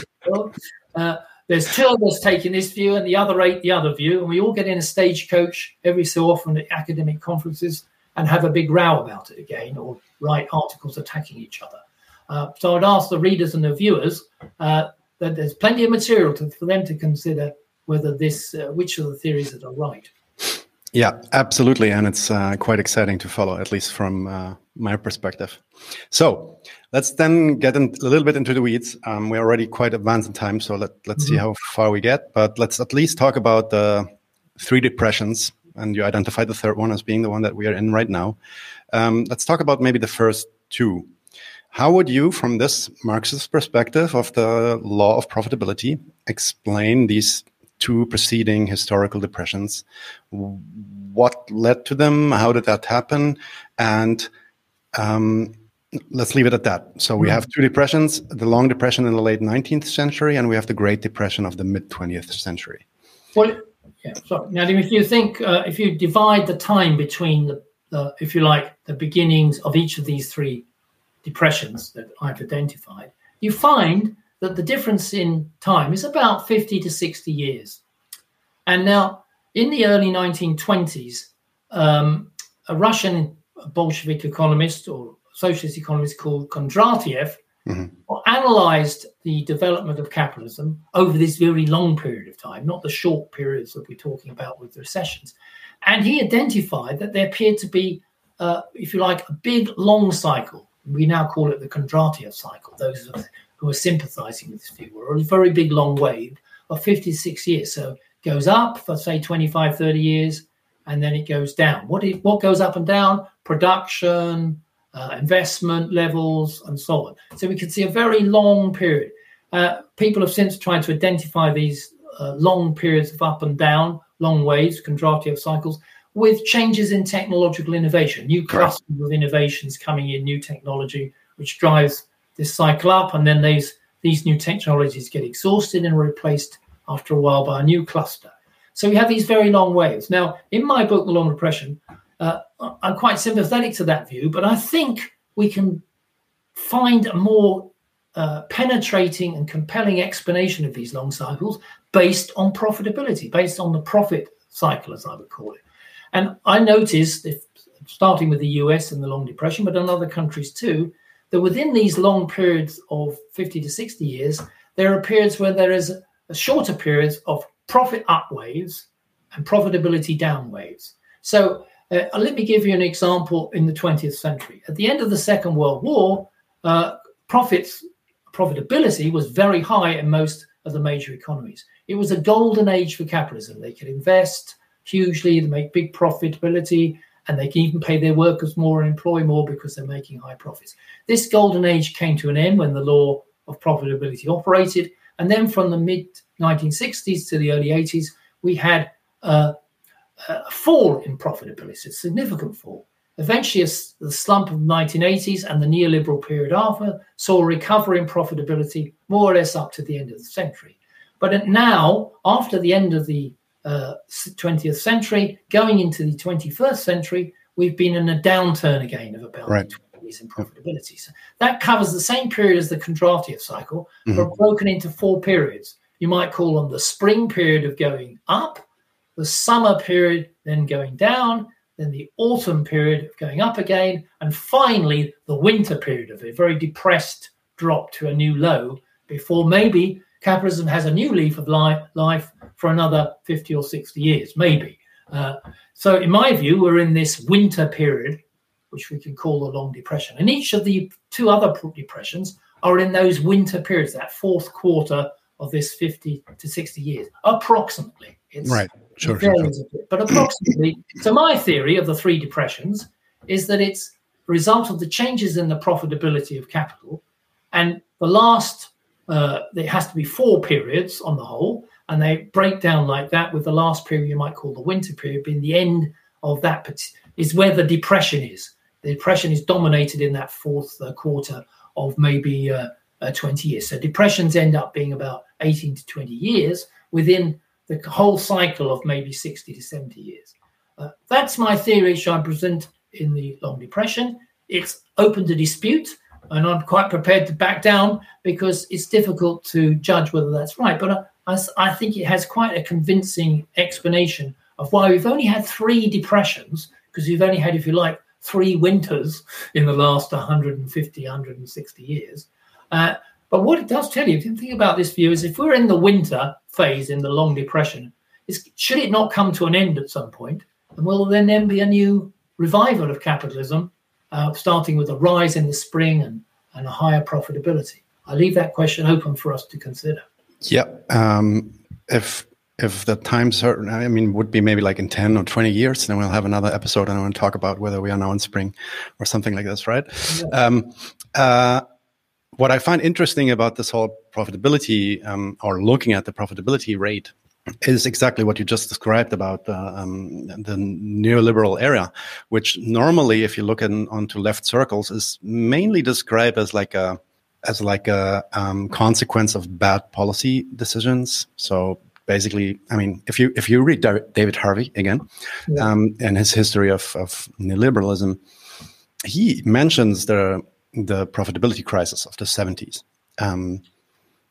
uh, there's two of us taking this view and the other eight the other view, and we all get in a stagecoach every so often at academic conferences and have a big row about it again, or write articles attacking each other. Uh, so I'd ask the readers and the viewers uh, that there's plenty of material to, for them to consider whether this, uh, which of the theories that are right. Yeah, absolutely. And it's uh, quite exciting to follow, at least from uh, my perspective. So let's then get in, a little bit into the weeds. Um, we're already quite advanced in time, so let, let's mm-hmm. see how far we get. But let's at least talk about the three depressions. And you identified the third one as being the one that we are in right now. Um, let's talk about maybe the first two. How would you, from this Marxist perspective of the law of profitability, explain these two preceding historical depressions? What led to them? How did that happen? And um, let's leave it at that. So we have two depressions, the long depression in the late nineteenth century, and we have the Great Depression of the mid-twentieth century. Well, yeah, sorry. Now, if you think, uh, if you divide the time between, the, the, if you like, the beginnings of each of these three depressions that I've identified, you find that the difference in time is about fifty to sixty years. And now, in the early nineteen twenties, um, a Russian Bolshevik economist or socialist economist called Kondratiev, mm-hmm. analyzed the development of capitalism over this very long period of time, not the short periods that we're talking about with the recessions. And he identified that there appeared to be, uh, if you like, a big long cycle. We now call it the Kondratiev cycle. Those who are sympathizing with this view, or a very big long wave of fifty-six years. So it goes up for, say, twenty-five, thirty years, and then it goes down. What, is, what goes up and down? Production, uh, investment levels, and so on. So we can see a very long period. Uh, people have since tried to identify these uh, long periods of up and down, long waves, Kondratiev cycles, with changes in technological innovation, new clusters of innovations coming in, new technology, which drives this cycle up. And then these, these new technologies get exhausted and replaced after a while by a new cluster. So we have these very long waves. Now, in my book, The Long Depression, uh, I'm quite sympathetic to that view, but I think we can find a more uh, penetrating and compelling explanation of these long cycles based on profitability, based on the profit cycle, as I would call it. And I noticed, if, starting with the U S and the Long Depression, but in other countries too, that within these long periods of fifty to sixty years, there are periods where there is a, a shorter periods of profit up waves and profitability down waves. So uh, let me give you an example in the twentieth century. At the end of the Second World War, uh, profits, profitability was very high in most of the major economies. It was a golden age for capitalism. They could invest hugely, they make big profitability, and they can even pay their workers more and employ more because they're making high profits. This golden age came to an end when the law of profitability operated. And then from the mid nineteen sixties to the early eighties, we had uh, a fall in profitability, a significant fall. Eventually, the slump of the nineteen eighties and the neoliberal period after saw a recovery in profitability more or less up to the end of the century. But now, after the end of the uh, twentieth century, going into the twenty-first century, we've been in a downturn again of about right. twenty years in profitability. So that covers the same period as the Kondratiev cycle, mm-hmm. but broken into four periods. You might call them the spring period of going up, the summer period then going down, then the autumn period of going up again, and finally the winter period of a very depressed drop to a new low before maybe capitalism has a new leaf of life, life for another fifty or sixty years, maybe. Uh, so in my view, we're in this winter period, which we can call the Long Depression. And each of the two other depressions are in those winter periods, that fourth quarter of this fifty to sixty years, approximately. It's, right, sure, it sure, sure. A bit, but approximately. So my theory of the three depressions is that it's a result of the changes in the profitability of capital. And the last, uh, there has to be four periods on the whole, and they break down like that, with the last period you might call the winter period being the end of that, is where the depression is. The depression is dominated in that fourth uh, quarter of maybe uh, uh, twenty years. So depressions end up being about eighteen to twenty years within the whole cycle of maybe sixty to seventy years. Uh, that's my theory, which I present in the Long Depression. It's open to dispute, and I'm quite prepared to back down because it's difficult to judge whether that's right. But I, I think it has quite a convincing explanation of why we've only had three depressions, because we've only had, if you like, three winters in the last one hundred fifty, one hundred sixty years. Uh, but what it does tell you, if you think about this view, is if we're in the winter phase in the Long Depression, is, should it not come to an end at some point? And will there then be a new revival of capitalism, uh, starting with a rise in the spring and, and a higher profitability? I leave that question open for us to consider. Yeah. Um, if if the time certain, I mean, would be maybe like in ten or twenty years, then we'll have another episode and I want to talk about whether we are now in spring or something like this, right? Yeah. Um, uh, what I find interesting about this whole profitability, um, or looking at the profitability rate, is exactly what you just described about uh, um, the neoliberal era, which normally, if you look in, onto left circles, is mainly described as like a as like a um, consequence of bad policy decisions. So basically, I mean, if you if you read David Harvey again, yeah. um, and his history of, of neoliberalism, he mentions the the profitability crisis of the seventies. Um,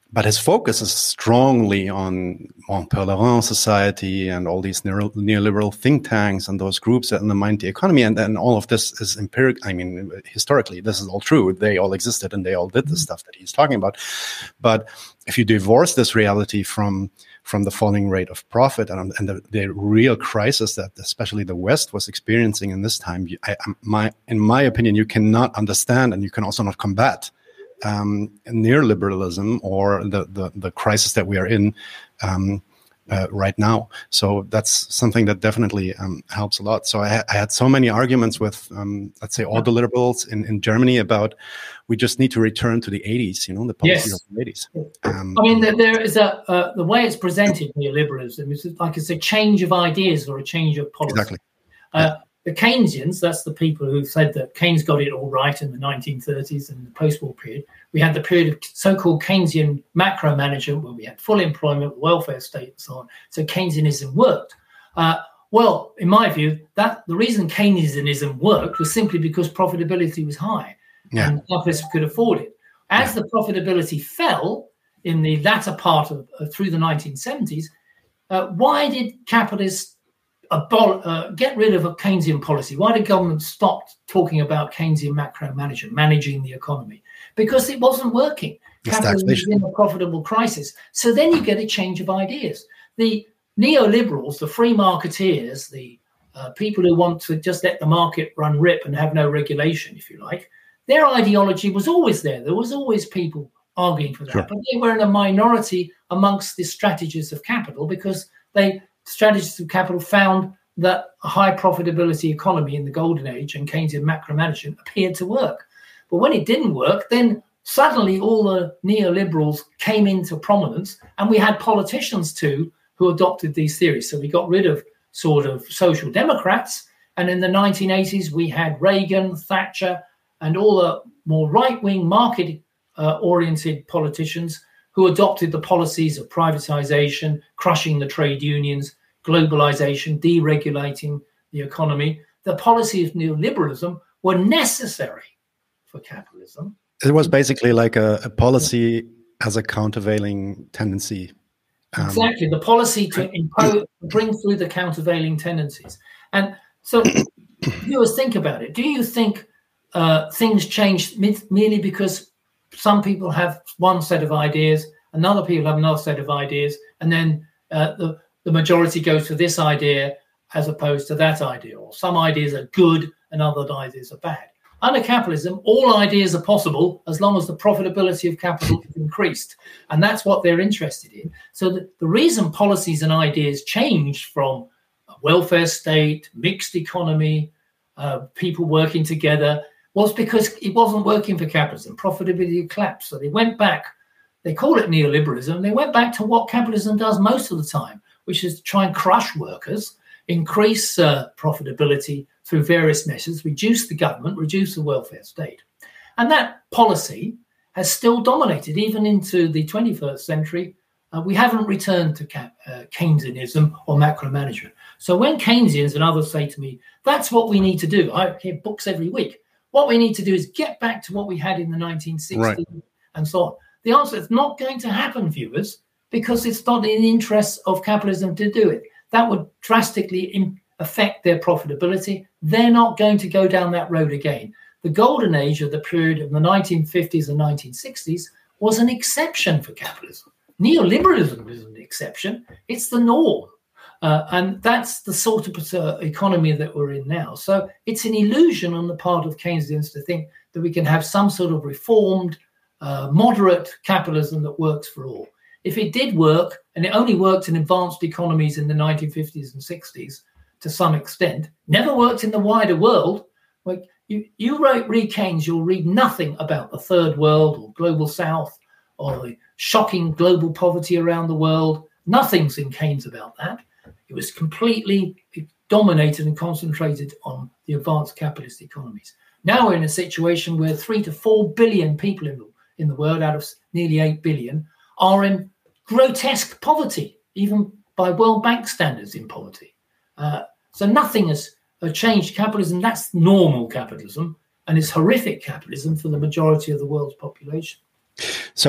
but his focus is strongly on Mont-Pelerin Society and all these neo- neoliberal think tanks and those groups that undermine the economy. And then all of this is empirical. I mean, historically, this is all true. They all existed and they all did the stuff that he's talking about. But if you divorce this reality from from the falling rate of profit and, and the, the real crisis that especially the West was experiencing in this time, I, my, in my opinion, you cannot understand and you can also not combat um, neoliberalism or the, the, the crisis that we are in um, uh, right now. So that's something that definitely um, helps a lot. So I, I had so many arguments with, um, let's say, all the liberals in, in Germany about we just need to return to the eighties, you know, the policy yes. of the eighties. Um, I mean, there, there is a, uh, the way it's presented, neoliberalism, is like it's a change of ideas or a change of policy. Exactly. Uh, yeah. The Keynesians, that's the people who said that Keynes got it all right in the nineteen thirties and the post-war period. We had the period of so-called Keynesian macro management where we had full employment, welfare state, and so on. So Keynesianism worked. Uh, well, in my view, that the reason Keynesianism worked was simply because profitability was high. Yeah. And capitalists could afford it. As yeah. the profitability fell in the latter part of uh, through the nineteen seventies, uh, why did capitalists abol- uh, get rid of a Keynesian policy? Why did government stop talking about Keynesian macro management, managing the economy? Because it wasn't working. Capitalism was in a profitable crisis. So then you get a change of ideas. The neoliberals, the free marketeers, the uh, people who want to just let the market run rip and have no regulation, if you like, their ideology was always there. There was always people arguing for that. Sure. But they were in a minority amongst the strategists of capital because they strategists of capital found that a high profitability economy in the golden age and Keynesian macro management appeared to work. But when it didn't work, then suddenly all the neoliberals came into prominence and we had politicians too who adopted these theories. So we got rid of sort of social democrats. And in the nineteen eighties, we had Reagan, Thatcher, and all the more right-wing market-oriented uh, politicians who adopted the policies of privatization, crushing the trade unions, globalization, deregulating the economy. The policies of neoliberalism were necessary for capitalism. It was basically like a, a policy as a countervailing tendency. Um, exactly, the policy to impose, bring through the countervailing tendencies. And so viewers, think about it. Do you think Uh, things change merely because some people have one set of ideas, another people have another set of ideas, and then uh, the, the majority goes to this idea as opposed to that idea, or some ideas are good and other ideas are bad? Under capitalism, all ideas are possible as long as the profitability of capital is increased, and that's what they're interested in. So the, the reason policies and ideas changed from a welfare state, mixed economy, uh, people working together, was because it wasn't working for capitalism. Profitability collapsed. So they went back, they call it neoliberalism, they went back to what capitalism does most of the time, which is to try and crush workers, increase uh, profitability through various measures, reduce the government, reduce the welfare state. And that policy has still dominated, even into the twenty-first century. Uh, we haven't returned to cap- uh, Keynesianism or macro management. So when Keynesians and others say to me, that's what we need to do, I hear books every week, what we need to do is get back to what we had in the nineteen sixties right. and so on. The answer is not going to happen, viewers, because it's not in the interest of capitalism to do it. That would drastically in- affect their profitability. They're not going to go down that road again. The golden age of the period of the nineteen fifties and nineteen sixties was an exception for capitalism. Neoliberalism is an exception. It's the norm. Uh, and that's the sort of uh, economy that we're in now. So it's an illusion on the part of Keynesians to think that we can have some sort of reformed, uh, moderate capitalism that works for all. If it did work, and it only worked in advanced economies in the nineteen fifties and sixties to some extent, never worked in the wider world. Like you, you write, read Keynes, you'll read nothing about the third world or global south or the shocking global poverty around the world. Nothing's in Keynes about that. It was completely dominated and concentrated on the advanced capitalist economies. Now we're in a situation where three to four billion people in the, in the world, out of nearly eight billion, are in grotesque poverty, even by World Bank standards in poverty. Uh, so nothing has uh, changed capitalism. That's normal capitalism, and it's horrific capitalism for the majority of the world's population. So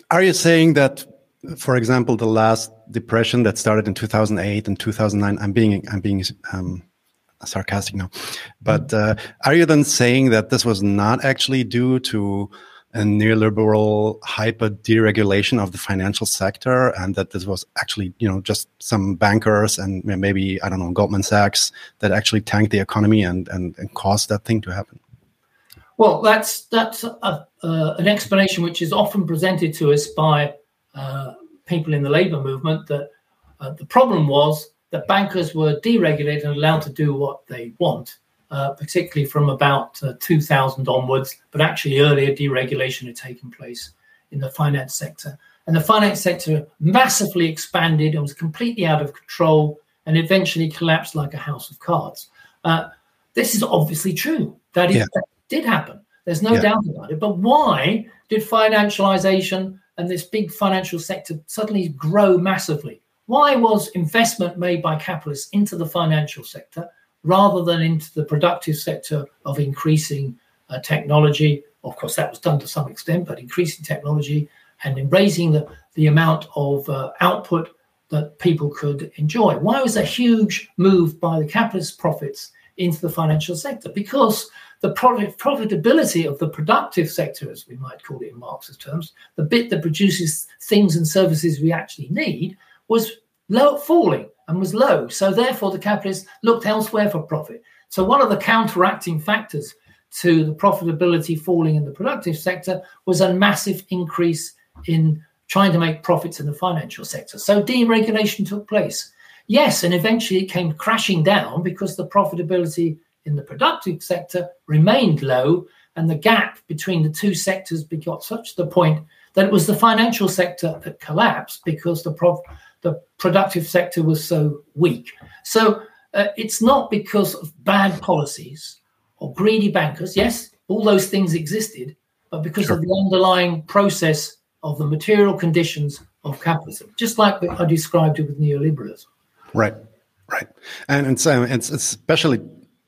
are you saying that, for example, the last depression that started in two thousand eight and two thousand nine, I'm being I'm being um, sarcastic now, but uh, are you then saying that this was not actually due to a neoliberal hyper deregulation of the financial sector, and that this was actually, you know, just some bankers and maybe, I don't know, Goldman Sachs that actually tanked the economy and and, and caused that thing to happen? Well, that's that's a, uh, an explanation which is often presented to us by uh, people in the labour movement, that uh, the problem was that bankers were deregulated and allowed to do what they want, uh, particularly from about uh, two thousand onwards, but actually earlier deregulation had taken place in the finance sector. And the finance sector massively expanded and was completely out of control and eventually collapsed like a house of cards. Uh, this is obviously true. That is, yeah. that did happen. There's no yeah. doubt about it. But why did financialization and this big financial sector suddenly grow massively? Why was investment made by capitalists into the financial sector rather than into the productive sector of increasing uh, technology? Of course, that was done to some extent, but increasing technology and in raising the, the amount of uh, output that people could enjoy. Why was a huge move by the capitalist profits into the financial sector? Because the profit, profitability of the productive sector, as we might call it in Marxist terms, the bit that produces things and services we actually need, was low, falling and was low. So therefore, the capitalists looked elsewhere for profit. So one of the counteracting factors to the profitability falling in the productive sector was a massive increase in trying to make profits in the financial sector. So deregulation took place. Yes, and eventually it came crashing down because the profitability in the productive sector remained low, and the gap between the two sectors got such to the point that it was the financial sector that collapsed because the prof- the productive sector was so weak. So uh, it's not because of bad policies or greedy bankers. Yes, all those things existed, but because sure. of the underlying process of the material conditions of capitalism, just like I described it with neoliberalism. Right, right. And it's, um, it's especially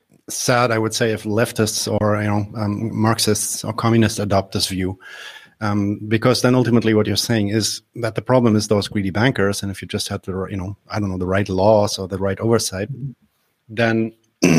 sad, I would say, if leftists or, you know, um, Marxists or communists adopt this view. Um, because then ultimately what you're saying is that the problem is those greedy bankers. And if you just had the, you know, I don't know, the right laws or the right oversight, then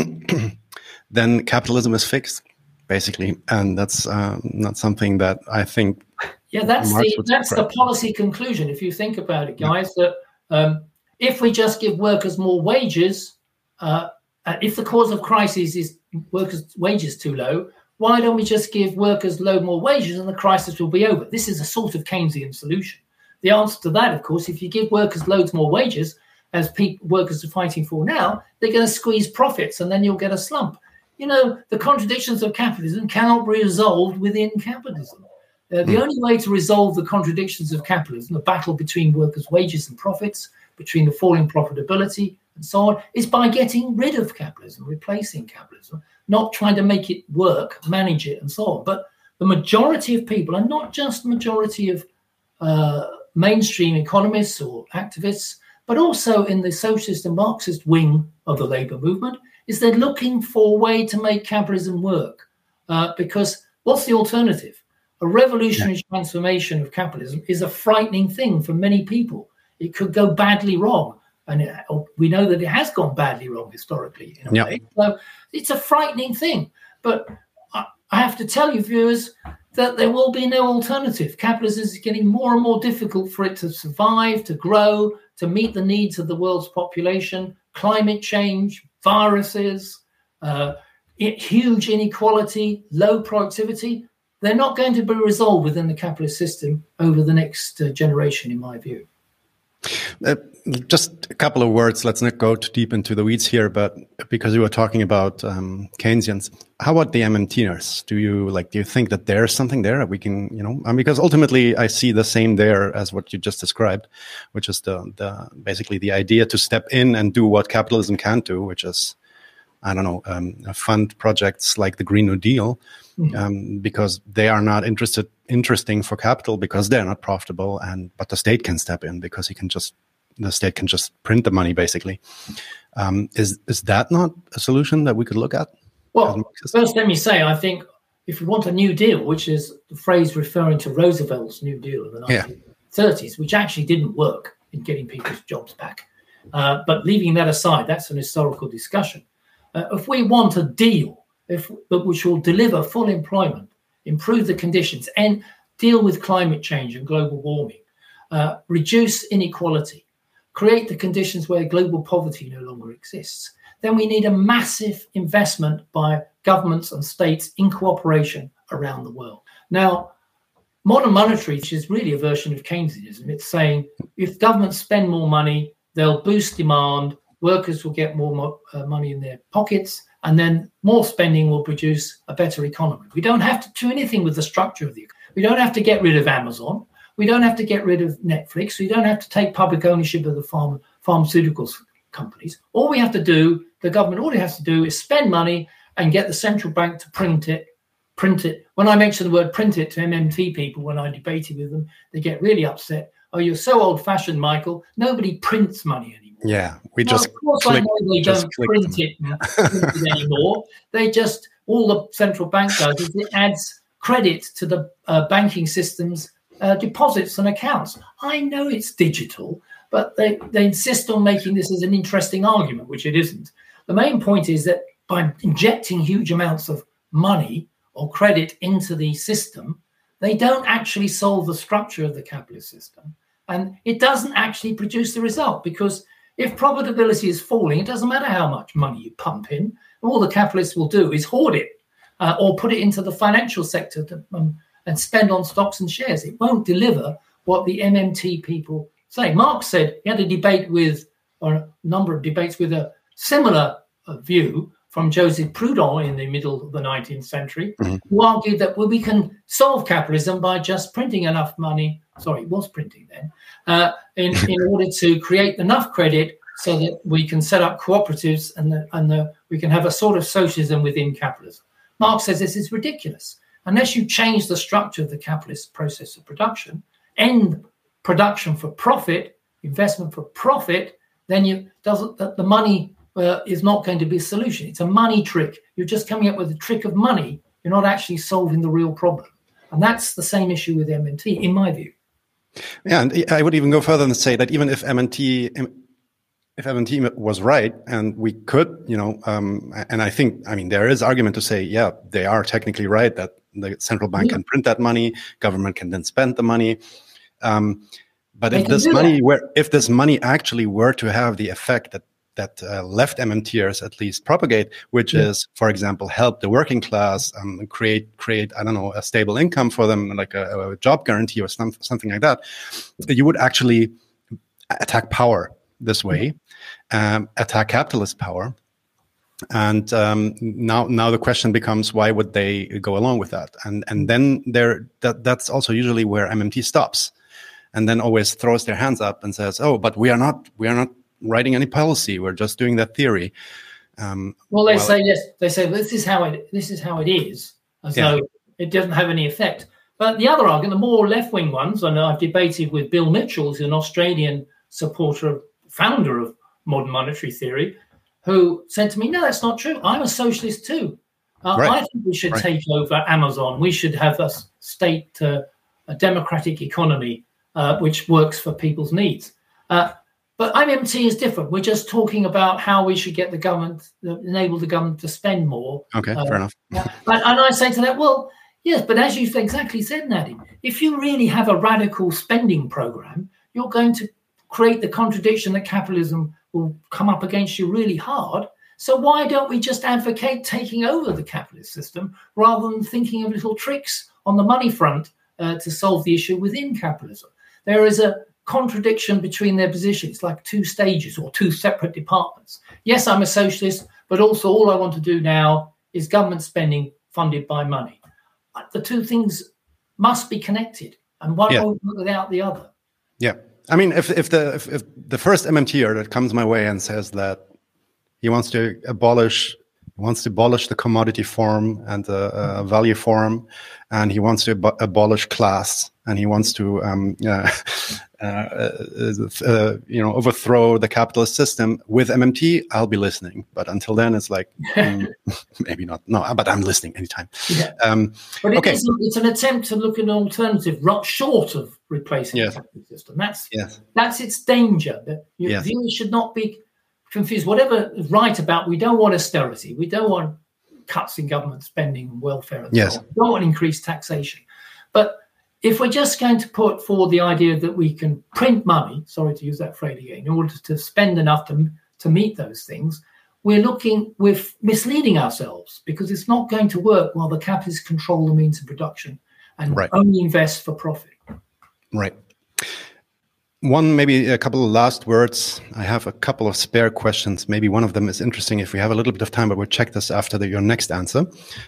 then capitalism is fixed, basically. And that's uh, not something that I think. Yeah, that's Marx the that's the policy conclusion. If you think about it, guys, yeah. that um, if we just give workers more wages, uh, if the cause of crisis is workers' wages too low, why don't we just give workers low more wages and the crisis will be over? This is a sort of Keynesian solution. The answer to that, of course, if you give workers loads more wages, as people, workers are fighting for now, they're going to squeeze profits and then you'll get a slump. You know, the contradictions of capitalism cannot be resolved within capitalism. Uh, the mm. only way to resolve the contradictions of capitalism, the battle between workers' wages and profits, between the falling profitability and so on, is by getting rid of capitalism, replacing capitalism, not trying to make it work, manage it, and so on. But the majority of people, and not just the majority of uh, mainstream economists or activists, but also in the socialist and Marxist wing of the labour movement, is they're looking for a way to make capitalism work. Uh, because what's the alternative? A revolutionary yeah. transformation of capitalism is a frightening thing for many people. It could go badly wrong. And it, we know that it has gone badly wrong historically, in a yeah. way. So it's a frightening thing. But I, I have to tell you, viewers, that there will be no alternative. Capitalism is getting more and more difficult for it to survive, to grow, to meet the needs of the world's population. Climate change, viruses, uh, it, huge inequality, low productivity. They're not going to be resolved within the capitalist system over the next uh, generation, in my view. Uh, just a couple of words. Let's not go too deep into the weeds here, but because you were talking about um, Keynesians, how about the MMTers? Do you like? Do you think that there's something there that we can, you know? Um, because ultimately, I see the same there as what you just described, which is the the basically the idea to step in and do what capitalism can't do, which is, I don't know, um, fund projects like the Green New Deal, mm-hmm. um, because they are not interested. interesting for capital because they're not profitable, and but the state can step in because he can just the state can just print the money basically. Um, is is that not a solution that we could look at? Well, first let me say I think if we want a New Deal, which is the phrase referring to Roosevelt's New Deal in the nineteen thirties, yeah. which actually didn't work in getting people's jobs back. Uh, but leaving that aside, that's an historical discussion. Uh, if we want a deal if, which will deliver full employment, improve the conditions, and deal with climate change and global warming, uh, reduce inequality, create the conditions where global poverty no longer exists, then we need a massive investment by governments and states in cooperation around the world. Now, modern monetary, which is really a version of Keynesianism, it's saying if governments spend more money, they'll boost demand, workers will get more mo- uh, money in their pockets, and then more spending will produce a better economy. We don't have to do anything with the structure of the economy. We don't have to get rid of Amazon. We don't have to get rid of Netflix. We don't have to take public ownership of the pharma, pharmaceuticals companies. All we have to do, the government, all it has to do is spend money and get the central bank to print it, print it. When I mention the word print it to M M T people, when I debated with them, they get really upset. Oh, you're so old-fashioned, Michael. Nobody prints money anymore. Yeah, we well, just Of course, click, I know they don't print it, print it anymore. They just, all the central bank does is it adds credit to the uh, banking system's uh, deposits and accounts. I know it's digital, but they, they insist on making this as an interesting argument, which it isn't. The main point is that by injecting huge amounts of money or credit into the system, they don't actually solve the structure of the capitalist system. And it doesn't actually produce the result, because if profitability is falling, it doesn't matter how much money you pump in. All the capitalists will do is hoard it uh, or put it into the financial sector to, um, and spend on stocks and shares. It won't deliver what the M M T people say. Marx said he had a debate with, or a number of debates with a similar uh, view from Joseph Proudhon in the middle of the nineteenth century, mm-hmm. who argued that well, we can solve capitalism by just printing enough money. Sorry, it was printing then, uh, in, in order to create enough credit so that we can set up cooperatives and, the, and the, we can have a sort of socialism within capitalism. Marx says this is ridiculous. Unless you change the structure of the capitalist process of production, end production for profit, investment for profit, then you doesn't the, the money uh, is not going to be a solution. It's a money trick. You're just coming up with a trick of money. You're not actually solving the real problem. And that's the same issue with M M T, in my view. Yeah, and I would even go further and say that even if M M T, if M M T was right, and we could, you know, um, and I think, I mean, there is argument to say, yeah, they are technically right that the central bank yeah. can print that money, government can then spend the money. Um, but they if this money that. were, if this money actually were to have the effect that that uh, left MMTers at least propagate, which yeah. is, for example, help the working class um, create, create, I don't know, a stable income for them, like a, a job guarantee or some, something like that, you would actually attack power this way, um, attack capitalist power. And um, now, now the question becomes, why would they go along with that? And and then there, that that's also usually where M M T stops, and then always throws their hands up and says, "Oh, but we are not, we are not writing any policy. We're just doing that theory." Um, well, they well, say yes. They say this is how it. This is how it is, as yeah. though it doesn't have any effect. But the other argument, the more left-wing ones, and I've debated with Bill Mitchell, who's an Australian supporter, founder of modern monetary theory, who said to me, no, that's not true. I'm a socialist too. Uh, right. I think we should right. take over Amazon. We should have a state, uh, a democratic economy, uh, which works for people's needs. Uh, but M M T is different. We're just talking about how we should get the government, uh, enable the government to spend more. Okay, uh, fair enough. and, and I say to that, well, yes, but as you've exactly said, Nadim, if you really have a radical spending program, you're going to create the contradiction that capitalism will come up against you really hard. So why don't we just advocate taking over the capitalist system rather than thinking of little tricks on the money front uh, to solve the issue within capitalism? There is a contradiction between their positions, like two stages or two separate departments. Yes, I'm a socialist, but also all I want to do now is government spending funded by money. The two things must be connected, and one yeah. won't work without the other. Yeah. I mean, if if the if, if the first MMTer that comes my way and says that he wants to abolish He wants to abolish the commodity form and the uh, value form, and he wants to ab- abolish class, and he wants to, um, uh, uh, uh, you know, overthrow the capitalist system. With M M T, I'll be listening, but until then, it's like mm, maybe not. No, but I'm listening anytime. Yeah. Um, but it okay. is, it's an attempt to look at an alternative, not short of replacing Yes. the capitalist system. That's Yes. that's its danger. That your Yes. viewers should not be confused. Whatever is right about, we don't want austerity. We don't want cuts in government spending and welfare and Yes. so on. We don't want increased taxation. But if we're just going to put forward the idea that we can print money, sorry to use that phrase again, in order to spend enough to, to meet those things, we're looking, we're misleading ourselves, because it's not going to work while the capitalists control the means of production and Right. only invest for profit. Right. One, maybe a couple of last words. I have a couple of spare questions. Maybe one of them is interesting if we have a little bit of time, but we'll check this after the, your next answer.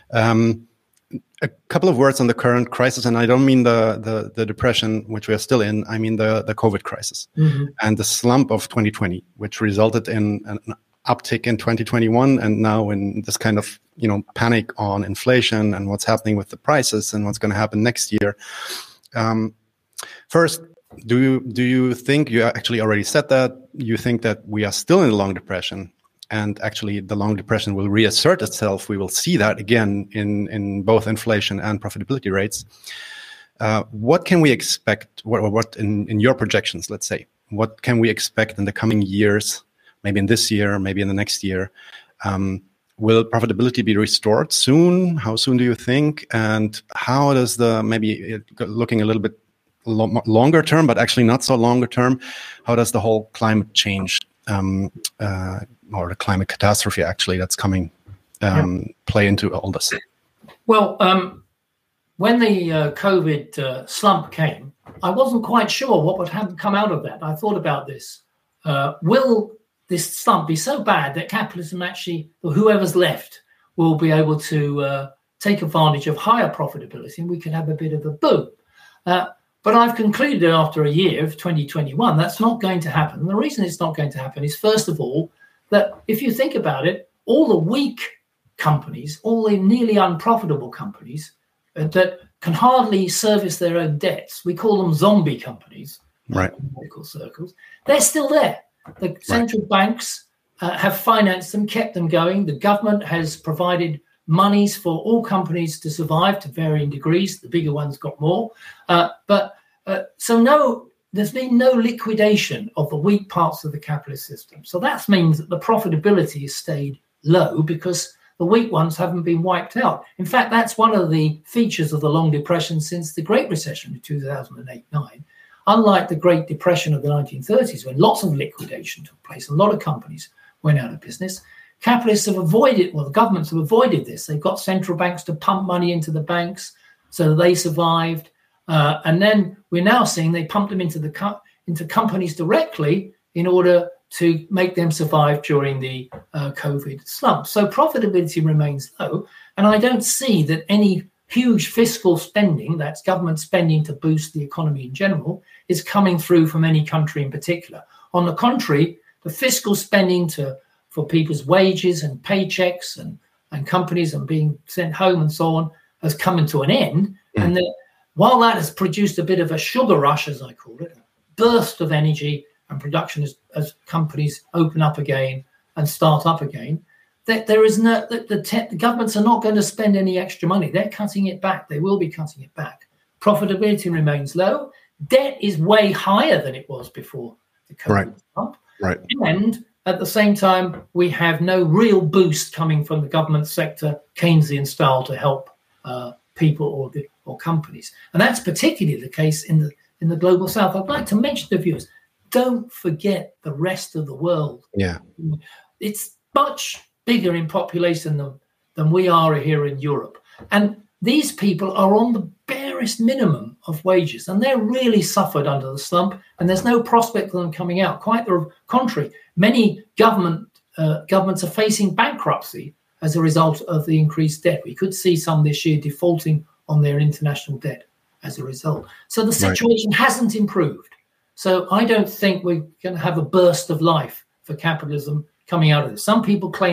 Um, a couple of words on the current crisis, and I don't mean the, the, the depression, which we are still in. I mean the, the COVID crisis Mm-hmm. and the slump of twenty twenty, which resulted in an uptick in twenty twenty-one, and now in this kind of, you know, panic on inflation and what's happening with the prices and what's going to happen next year. Um, first, Do you do you think, you actually already said that, you think that we are still in a long depression, and actually the long depression will reassert itself? We will see that again in, in both inflation and profitability rates. Uh, what can we expect, what, what in, in your projections, let's say, what can we expect in the coming years, maybe in this year, maybe in the next year? Um, will profitability be restored soon? How soon do you think? And how does the, maybe looking a little bit longer term, but actually not so longer term, how does the whole climate change um, uh, or the climate catastrophe actually that's coming um, yeah. play into all this? Well, um, when the uh, COVID uh, slump came, I wasn't quite sure what would have come out of that. I thought about this. Uh, will this slump be so bad that capitalism actually, or whoever's left, will be able to uh, take advantage of higher profitability, and we can have a bit of a boom? Uh, But I've concluded after a year of twenty twenty-one, that's not going to happen. And the reason it's not going to happen is, first of all, that if you think about it, all the weak companies, all the nearly unprofitable companies uh, that can hardly service their own debts, we call them zombie companies, right, in medical circles, they're still there. The central right. banks uh, have financed them, kept them going. The government has provided monies for all companies to survive to varying degrees. The bigger ones got more. Uh, but uh, so no, there's been no liquidation of the weak parts of the capitalist system. So that means that the profitability has stayed low because the weak ones haven't been wiped out. In fact, that's one of the features of the long depression since the Great Recession in two thousand eight nine. Unlike the Great Depression of the nineteen thirties, when lots of liquidation took place, a lot of companies went out of business, capitalists have avoided, well, the governments have avoided this. They've got central banks to pump money into the banks so that they survived. Uh, and then we're now seeing they pump them into the co- into companies directly in order to make them survive during the uh, COVID slump. So profitability remains low. And I don't see that any huge fiscal spending, that's government spending to boost the economy in general, is coming through from any country in particular. On the contrary, the fiscal spending to for people's wages and paychecks and, and companies and being sent home and so on has come to an end. Mm. And that while that has produced a bit of a sugar rush, as I call it, a burst of energy and production as, as companies open up again and start up again, that there is no, that the, te- the governments are not going to spend any extra money. They're cutting it back. They will be cutting it back. Profitability remains low. Debt is way higher than it was before the COVID right. slump. Right. And at the same time, we have no real boost coming from the government sector, Keynesian style, to help uh, people or the, or companies. And that's particularly the case in the in the global south. I'd like to mention to viewers, don't forget the rest of the world. Yeah, it's much bigger in population than, than we are here in Europe. And these people are on the barest minimum of wages, and they're really suffered under the slump, and there's no prospect of them coming out. Quite the contrary. Many government uh, governments are facing bankruptcy as a result of the increased debt. We could see some this year defaulting on their international debt as a result. So the situation right. hasn't improved. So I don't think we're going to have a burst of life for capitalism coming out of this. Some people claim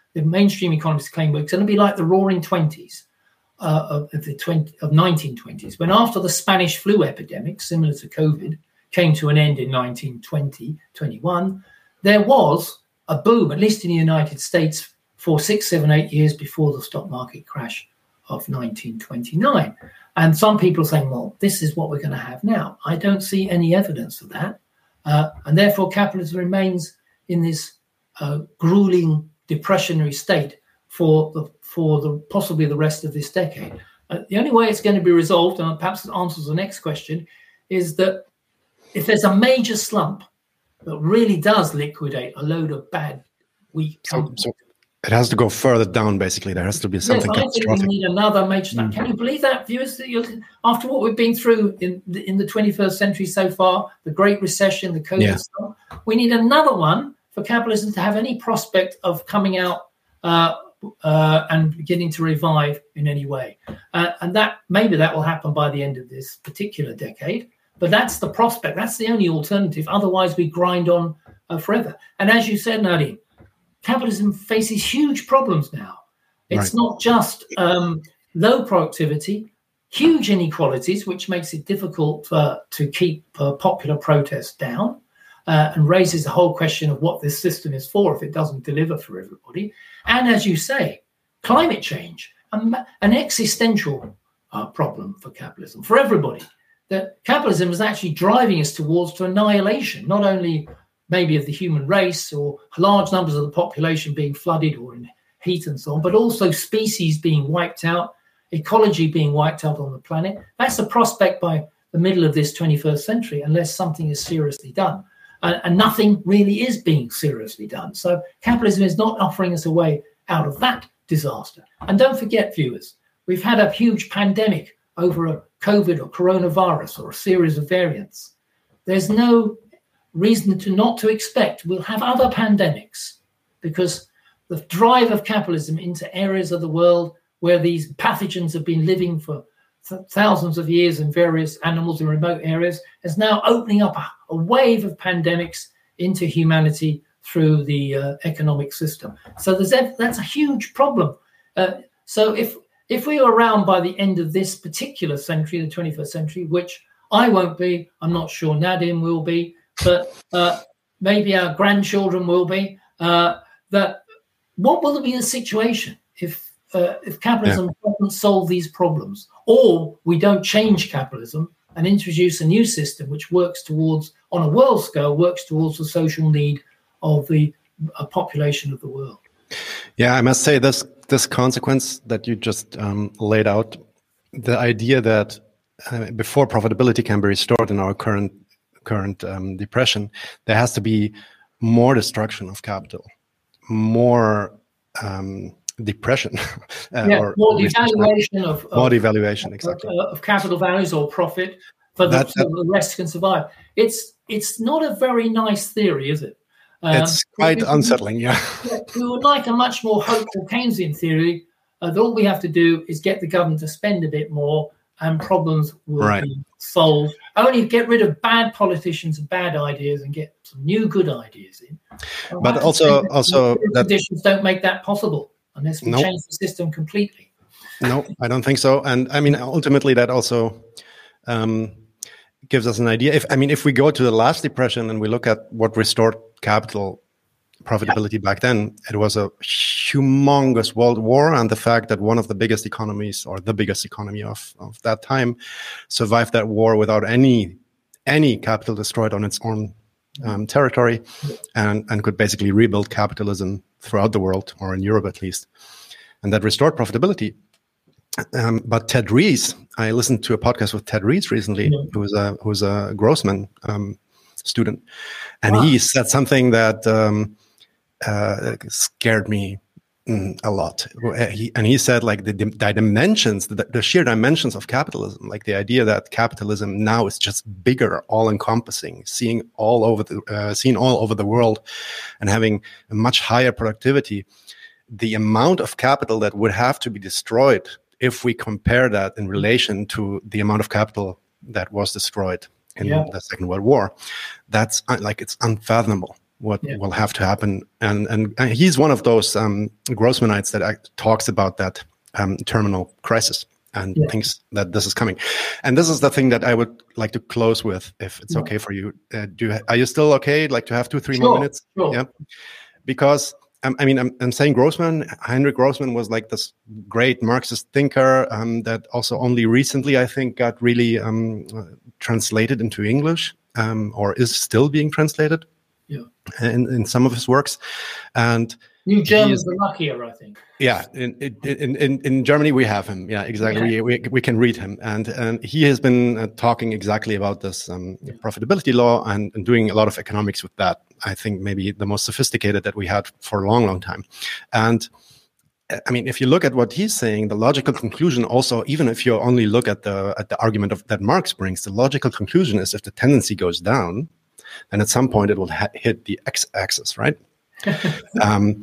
the mainstream economists claim we're going to be like the Roaring Twenties uh, of the twenty, of nineteen twenties, when after the Spanish flu epidemic, similar to COVID, came to an end in nineteen twenty, twenty-one, there was a boom, at least in the United States, for six, seven, eight years before the stock market crash of nineteen twenty-nine. And some people are saying, well, this is what we're going to have now. I don't see any evidence of that. Uh, and therefore, capitalism remains in this uh, grueling depressionary state for the for the possibly the rest of this decade. Uh, the only way it's going to be resolved, and perhaps it answers the next question, is that if there's a major slump that really does liquidate a load of bad, weak companies. So, so it has to go further down, basically. There has to be something yes, I think we need another major slump. Mm. Can you believe that, viewers? That you're, after what we've been through in the, in the twenty-first century so far, the Great Recession, the COVID yeah. slump, we need another one for capitalism to have any prospect of coming out uh, uh, and beginning to revive in any way. Uh, and that maybe that will happen by the end of this particular decade. But that's the prospect. That's the only alternative. Otherwise, we grind on uh, forever. And as you said, Nadim, capitalism faces huge problems now. It's right. not just um, low productivity, huge inequalities, which makes it difficult uh, to keep uh, popular protests down uh, and raises the whole question of what this system is for if it doesn't deliver for everybody. And as you say, climate change, um, an existential uh, problem for capitalism, for everybody. That capitalism is actually driving us towards to annihilation, not only maybe of the human race or large numbers of the population being flooded or in heat and so on, but also species being wiped out, ecology being wiped out on the planet. That's the prospect by the middle of this twenty-first century, unless something is seriously done. And, and nothing really is being seriously done. So capitalism is not offering us a way out of that disaster. And don't forget, viewers, we've had a huge pandemic over a COVID or coronavirus or a series of variants. There's no reason to not to expect we'll have other pandemics, because the drive of capitalism into areas of the world where these pathogens have been living for th- thousands of years in various animals in remote areas is now opening up a, a wave of pandemics into humanity through the uh, economic system. So there's a, that's a huge problem. Uh, so if If we are around by the end of this particular century, the twenty-first century, which I won't be, I'm not sure Nadim will be, but uh, maybe our grandchildren will be, uh, that what will be the situation if uh, if capitalism yeah. doesn't solve these problems, or we don't change capitalism and introduce a new system which works towards, on a world scale, works towards the social need of the uh, population of the world? Yeah, I must say this this consequence that you just um, laid out, the idea that uh, before profitability can be restored in our current current um, depression, there has to be more destruction of capital, more um, depression, uh, yeah, or more devaluation of, of more devaluation, exactly, of, of capital values or profit for the, that, so that, the rest can survive. It's it's not a very nice theory, is it? Um, it's quite we, unsettling, yeah. We would like a much more hopeful Keynesian theory uh, that all we have to do is get the government to spend a bit more and problems will right. be solved. Only get rid of bad politicians and bad ideas and get some new good ideas in. And but also, also that conditions don't make that possible unless we nope. change the system completely. No, I don't think so. And I mean, ultimately, that also um, gives us an idea. If I mean, if we go to the last depression and we look at what restored capital profitability yeah. back then, it was a humongous world war, and the fact that one of the biggest economies, or the biggest economy of, of that time, survived that war without any any capital destroyed on its own um, territory, and, and could basically rebuild capitalism throughout the world, or in Europe at least, and that restored profitability. Um, but Ted Rees, I listened to a podcast with Ted Rees recently, yeah. who was a who was a Grossman um, student, and wow. he said something that um, uh, scared me mm, a lot. He, and he said, like the, the dimensions, the, the sheer dimensions of capitalism, like the idea that capitalism now is just bigger, all-encompassing, seeing all over the uh, seen all over the world, and having a much higher productivity. The amount of capital that would have to be destroyed, if we compare that in relation to the amount of capital that was destroyed in yeah. the Second World War, that's un- like it's unfathomable. what Yeah. will have to happen. And, and and he's one of those um, Grossmanites that act, talks about that um, terminal crisis and Yeah. thinks that this is coming. And this is the thing that I would like to close with, if it's Yeah. okay for you. Uh, do you, are you still okay? Like to have two, three Sure, more minutes? sure. Yeah. Because um, I mean, I'm, I'm saying Grossman, Heinrich Grossman was like this great Marxist thinker um, that also only recently, I think, got really um, uh, translated into English, um, or is still being translated Yeah. in, in some of his works. And New Germans is, are luckier, I think. yeah, in, in in in Germany we have him. Yeah, exactly. Yeah. We, we we can read him, and and he has been uh, talking exactly about this um, profitability law and, and doing a lot of economics with that. I think maybe the most sophisticated that we had for a long, long time. And I mean, if you look at what he's saying, the logical conclusion also, even if you only look at the at the argument of that Marx brings, the logical conclusion is if the tendency goes down, then at some point it will ha- hit the x-axis, right? um,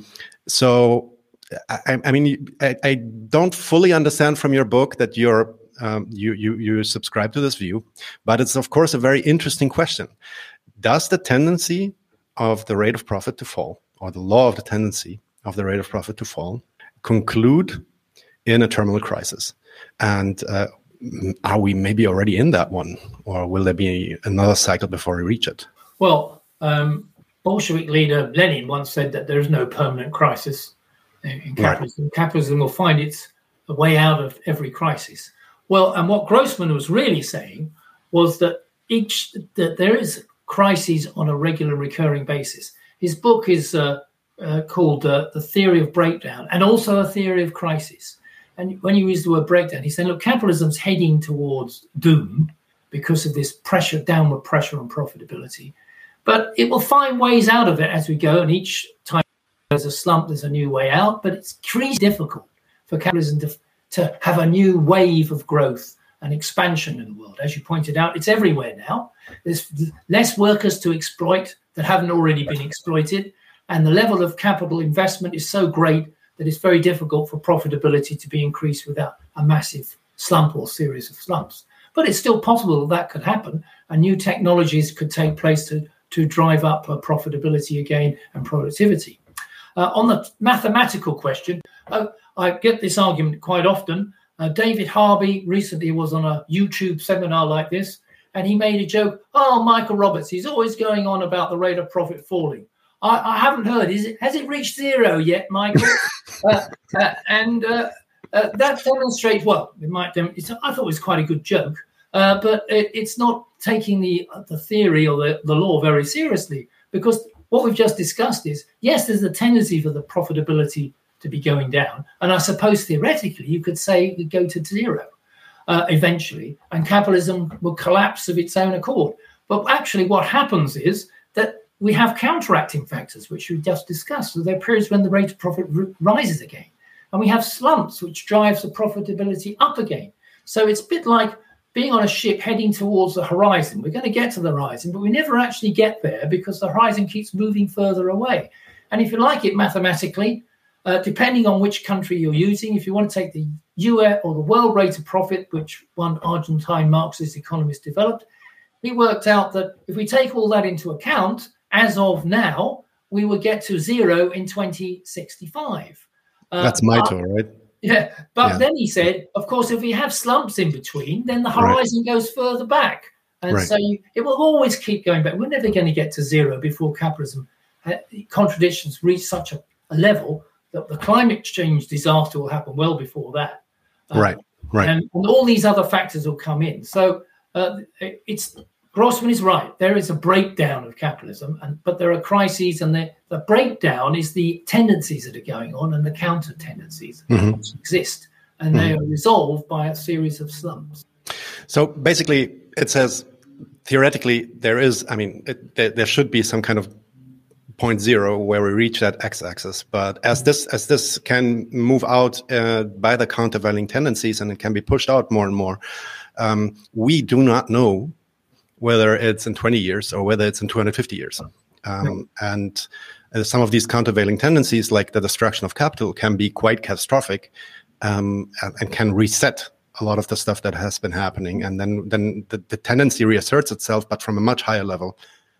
so, I, I mean, I, I don't fully understand from your book that you're um, you you you subscribe to this view, but it's of course a very interesting question. Does the tendency of the rate of profit to fall, or the law of the tendency of the rate of profit to fall, conclude in a terminal crisis? And uh, are we maybe already in that one, or will there be another cycle before we reach it? Well, um, Bolshevik leader Lenin once said that there is no permanent crisis in capitalism. Right. Capitalism will find its way out of every crisis. Well, and what Grossman was really saying was that each that there is crises on a regular, recurring basis. His book is uh, uh, called uh, The Theory of Breakdown, and also A Theory of Crisis. And when you use the word breakdown, he said, look, capitalism's heading towards doom because of this pressure, downward pressure on profitability. But it will find ways out of it as we go, and each time there's a slump, there's a new way out. But it's pretty difficult for capitalism to, to have a new wave of growth and expansion in the world. As you pointed out, it's everywhere now. There's less workers to exploit that haven't already been exploited, and the level of capital investment is so great that it's very difficult for profitability to be increased without a massive slump or series of slumps. But it's still possible that that could happen, and new technologies could take place to, to drive up uh, profitability again and productivity. Uh, on the mathematical question, uh, I get this argument quite often. Uh, David Harvey recently was on a YouTube seminar like this, and he made a joke, oh, Michael Roberts, he's always going on about the rate of profit falling. I, I haven't heard, is it, has it reached zero yet, Michael? uh, uh, and uh, uh, that demonstrates, well, it might. Dem- it's, I thought it was quite a good joke, uh, but it, it's not taking the the theory or the, the law very seriously, because what we've just discussed is, yes, there's a tendency for the profitability to be going down. And I suppose theoretically, you could say it would go to zero uh, eventually, and capitalism will collapse of its own accord. But actually what happens is that we have counteracting factors, which we just discussed. So there are periods when the rate of profit r- rises again. And we have slumps, which drives the profitability up again. So it's a bit like being on a ship heading towards the horizon. We're going to get to the horizon, but we never actually get there because the horizon keeps moving further away. And if you like it mathematically, uh, depending on which country you're using, if you want to take the U S or the world rate of profit, which one Argentine Marxist economist developed, he worked out that if we take all that into account, as of now, we will get to zero in twenty sixty-five. Uh, That's Maito, right? Yeah, but yeah. then he said, of course, if we have slumps in between, then the horizon right. goes further back. And right. so you, it will always keep going back. We're never going to get to zero before capitalism uh, contradictions reach such a, a level that the climate change disaster will happen well before that. Um, right, right. And, and all these other factors will come in. So uh, it's... Grossman is right. There is a breakdown of capitalism, and but there are crises, and the, the breakdown is the tendencies that are going on and the counter tendencies mm-hmm. which exist, and mm-hmm. they are resolved by a series of slumps. So basically, it says theoretically there is, I mean, it, there, there should be some kind of point zero where we reach that x-axis, but as this as this can move out uh, by the countervailing tendencies, and it can be pushed out more and more, um, we do not know whether it's in twenty years or whether it's in two hundred fifty years. Um, and uh, some of these countervailing tendencies, like the destruction of capital, can be quite catastrophic um, and, and can reset a lot of the stuff that has been happening. And then, then the, the tendency reasserts itself, but from a much higher level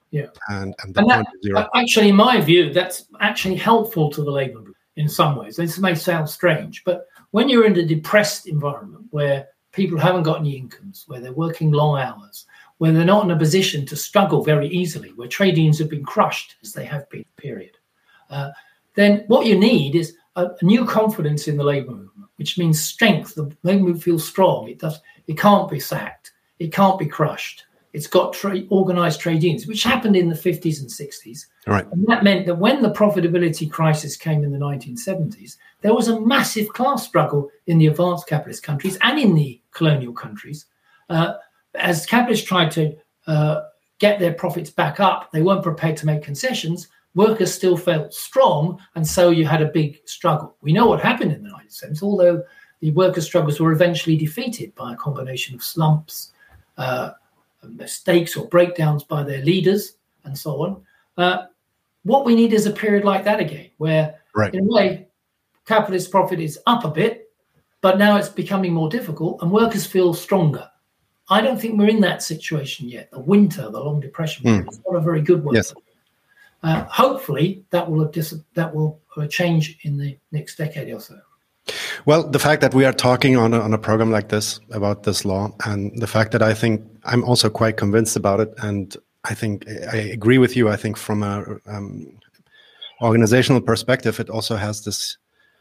Yeah. And, and the and point that, is zero. Actually, in my view, that's actually helpful to the labour movement in some ways. This may sound strange, but when you're in a depressed environment where people haven't got any incomes, where they're working long hours, where they're not in a position to struggle very easily, where trade unions have been crushed, as they have been, period, uh, then what you need is a, a new confidence in the labour movement, which means strength. The labour movement feels strong. It does. It can't be sacked. It can't be crushed. It's got tra- organised trade unions, which happened in the fifties and sixties. Right. And that meant that when the profitability crisis came in the nineteen seventies, there was a massive class struggle in the advanced capitalist countries and in the colonial countries. Uh, as capitalists tried to uh, get their profits back up, they weren't prepared to make concessions. Workers still felt strong, and so you had a big struggle. We know what happened in the nineteen seventies, although the workers' struggles were eventually defeated by a combination of slumps, uh, mistakes or breakdowns by their leaders, and so on. Uh, what we need is a period like that again, where, right. in a way, capitalist profit is up a bit, but now it's becoming more difficult, and workers feel stronger. I don't think we're in that situation yet. The winter, the long depression, mm. is not a very good one. Yes. Uh, hopefully, that will dis- that will change in the next decade or so. Well, the fact that we are talking on a, on a program like this about this law, and the fact that I think I'm also quite convinced about it, and I think I agree with you. I think from a um, organizational perspective, it also has this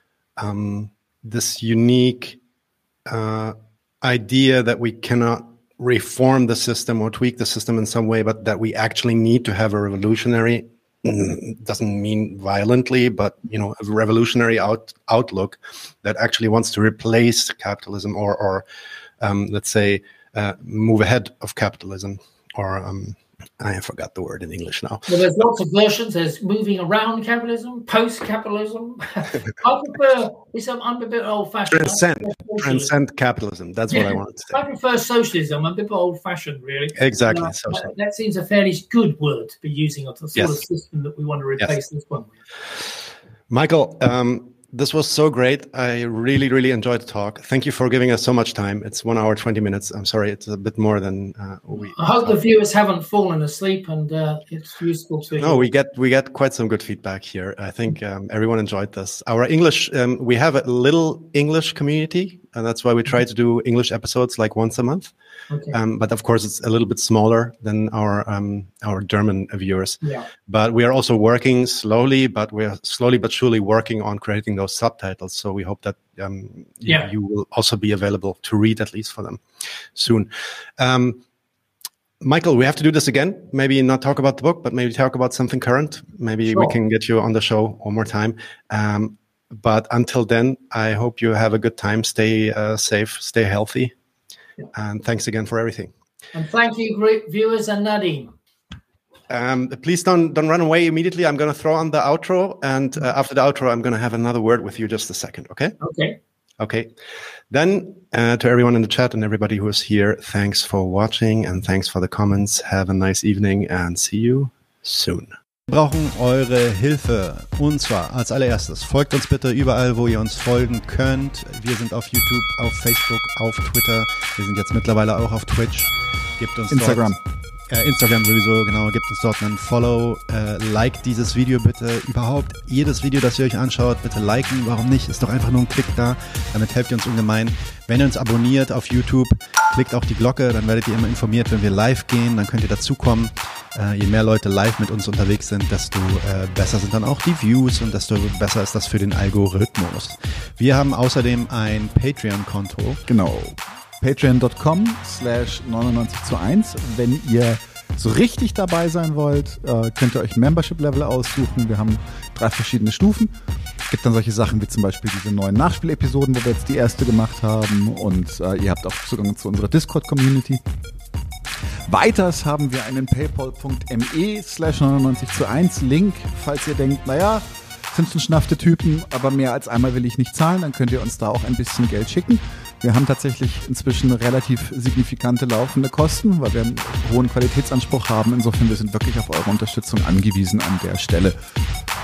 um, this unique uh, idea that we cannot reform the system or tweak the system in some way, but that we actually need to have a revolutionary. Doesn't mean violently, but you know, a revolutionary out, outlook that actually wants to replace capitalism, or, or um, let's say, uh, move ahead of capitalism. Or um, I forgot the word in English now. Well, there's lots of versions. There's moving around capitalism, post-capitalism. I prefer. I'm a bit old-fashioned. Transcend, transcend capitalism. That's yeah. what I wanted to say. I prefer socialism. I'm a bit old-fashioned, really. Exactly. Uh, socialism. That seems a fairly good word to be using of the sort yes. of system that we want to replace yes. this one with. Michael, um, this was so great. I really, really enjoyed the talk. Thank you for giving us so much time. It's one hour, twenty minutes. I'm sorry, it's a bit more than uh, we. I hope thought. the viewers haven't fallen asleep, and uh, it's useful to. No, we get we get quite some good feedback here. I think um, everyone enjoyed this. Our English, um, we have a little English community, and that's why we try to do English episodes like once a month. Okay. Um, but of course, it's a little bit smaller than our um, our German viewers. Yeah. But we are also working slowly, but we are slowly but surely working on creating those subtitles. So we hope that um, you, yeah. you will also be available to read, at least for them, soon. Um, Michael, we have to do this again. Maybe not talk about the book, but maybe talk about something current. Maybe sure. we can get you on the show one more time. Um, but until then, I hope you have a good time. Stay uh, safe, stay healthy. Yeah. And thanks again for everything. And thank you, great viewers, and Nadim. Um, please don't don't run away immediately. I'm going to throw on the outro, and uh, after the outro, I'm going to have another word with you. Just a second, okay? Okay. Okay. Then uh, to everyone in the chat and everybody who is here, thanks for watching and thanks for the comments. Have a nice evening and see you soon. Wir brauchen eure Hilfe. Und zwar als allererstes, folgt uns bitte überall, wo ihr uns folgen könnt. Wir sind auf YouTube, auf Facebook, auf Twitter. Wir sind jetzt mittlerweile auch auf Twitch. Gebt uns Instagram. Dort, äh, Instagram sowieso, genau. Gebt uns dort einen Follow. Äh, liked dieses Video bitte. Überhaupt jedes Video, das ihr euch anschaut, bitte liken. Warum nicht? Ist doch einfach nur ein Klick da. Damit helft ihr uns ungemein. Wenn ihr uns abonniert auf YouTube, klickt auch die Glocke. Dann werdet ihr immer informiert, wenn wir live gehen. Dann könnt ihr dazukommen. Äh, je mehr Leute live mit uns unterwegs sind, desto äh, besser sind dann auch die Views und desto besser ist das für den Algorithmus. Wir haben außerdem ein Patreon-Konto. Genau. Patreon.com slash neunundneunzig zu eins. Wenn ihr so richtig dabei sein wollt, äh, könnt ihr euch ein Membership-Level aussuchen. Wir haben drei verschiedene Stufen. Es gibt dann solche Sachen wie zum Beispiel diese neuen Nachspielepisoden, wo wir jetzt die erste gemacht haben. Und äh, ihr habt auch Zugang zu unserer Discord-Community. Weiters haben wir einen paypal.me slash neunundneunzig zu eins Link. Falls ihr denkt, naja, sind schon schnaffte Typen, aber mehr als einmal will ich nicht zahlen, dann könnt ihr uns da auch ein bisschen Geld schicken. Wir haben tatsächlich inzwischen relativ signifikante laufende Kosten, weil wir einen hohen Qualitätsanspruch haben. Insofern, wir sind wirklich auf eure Unterstützung angewiesen an der Stelle.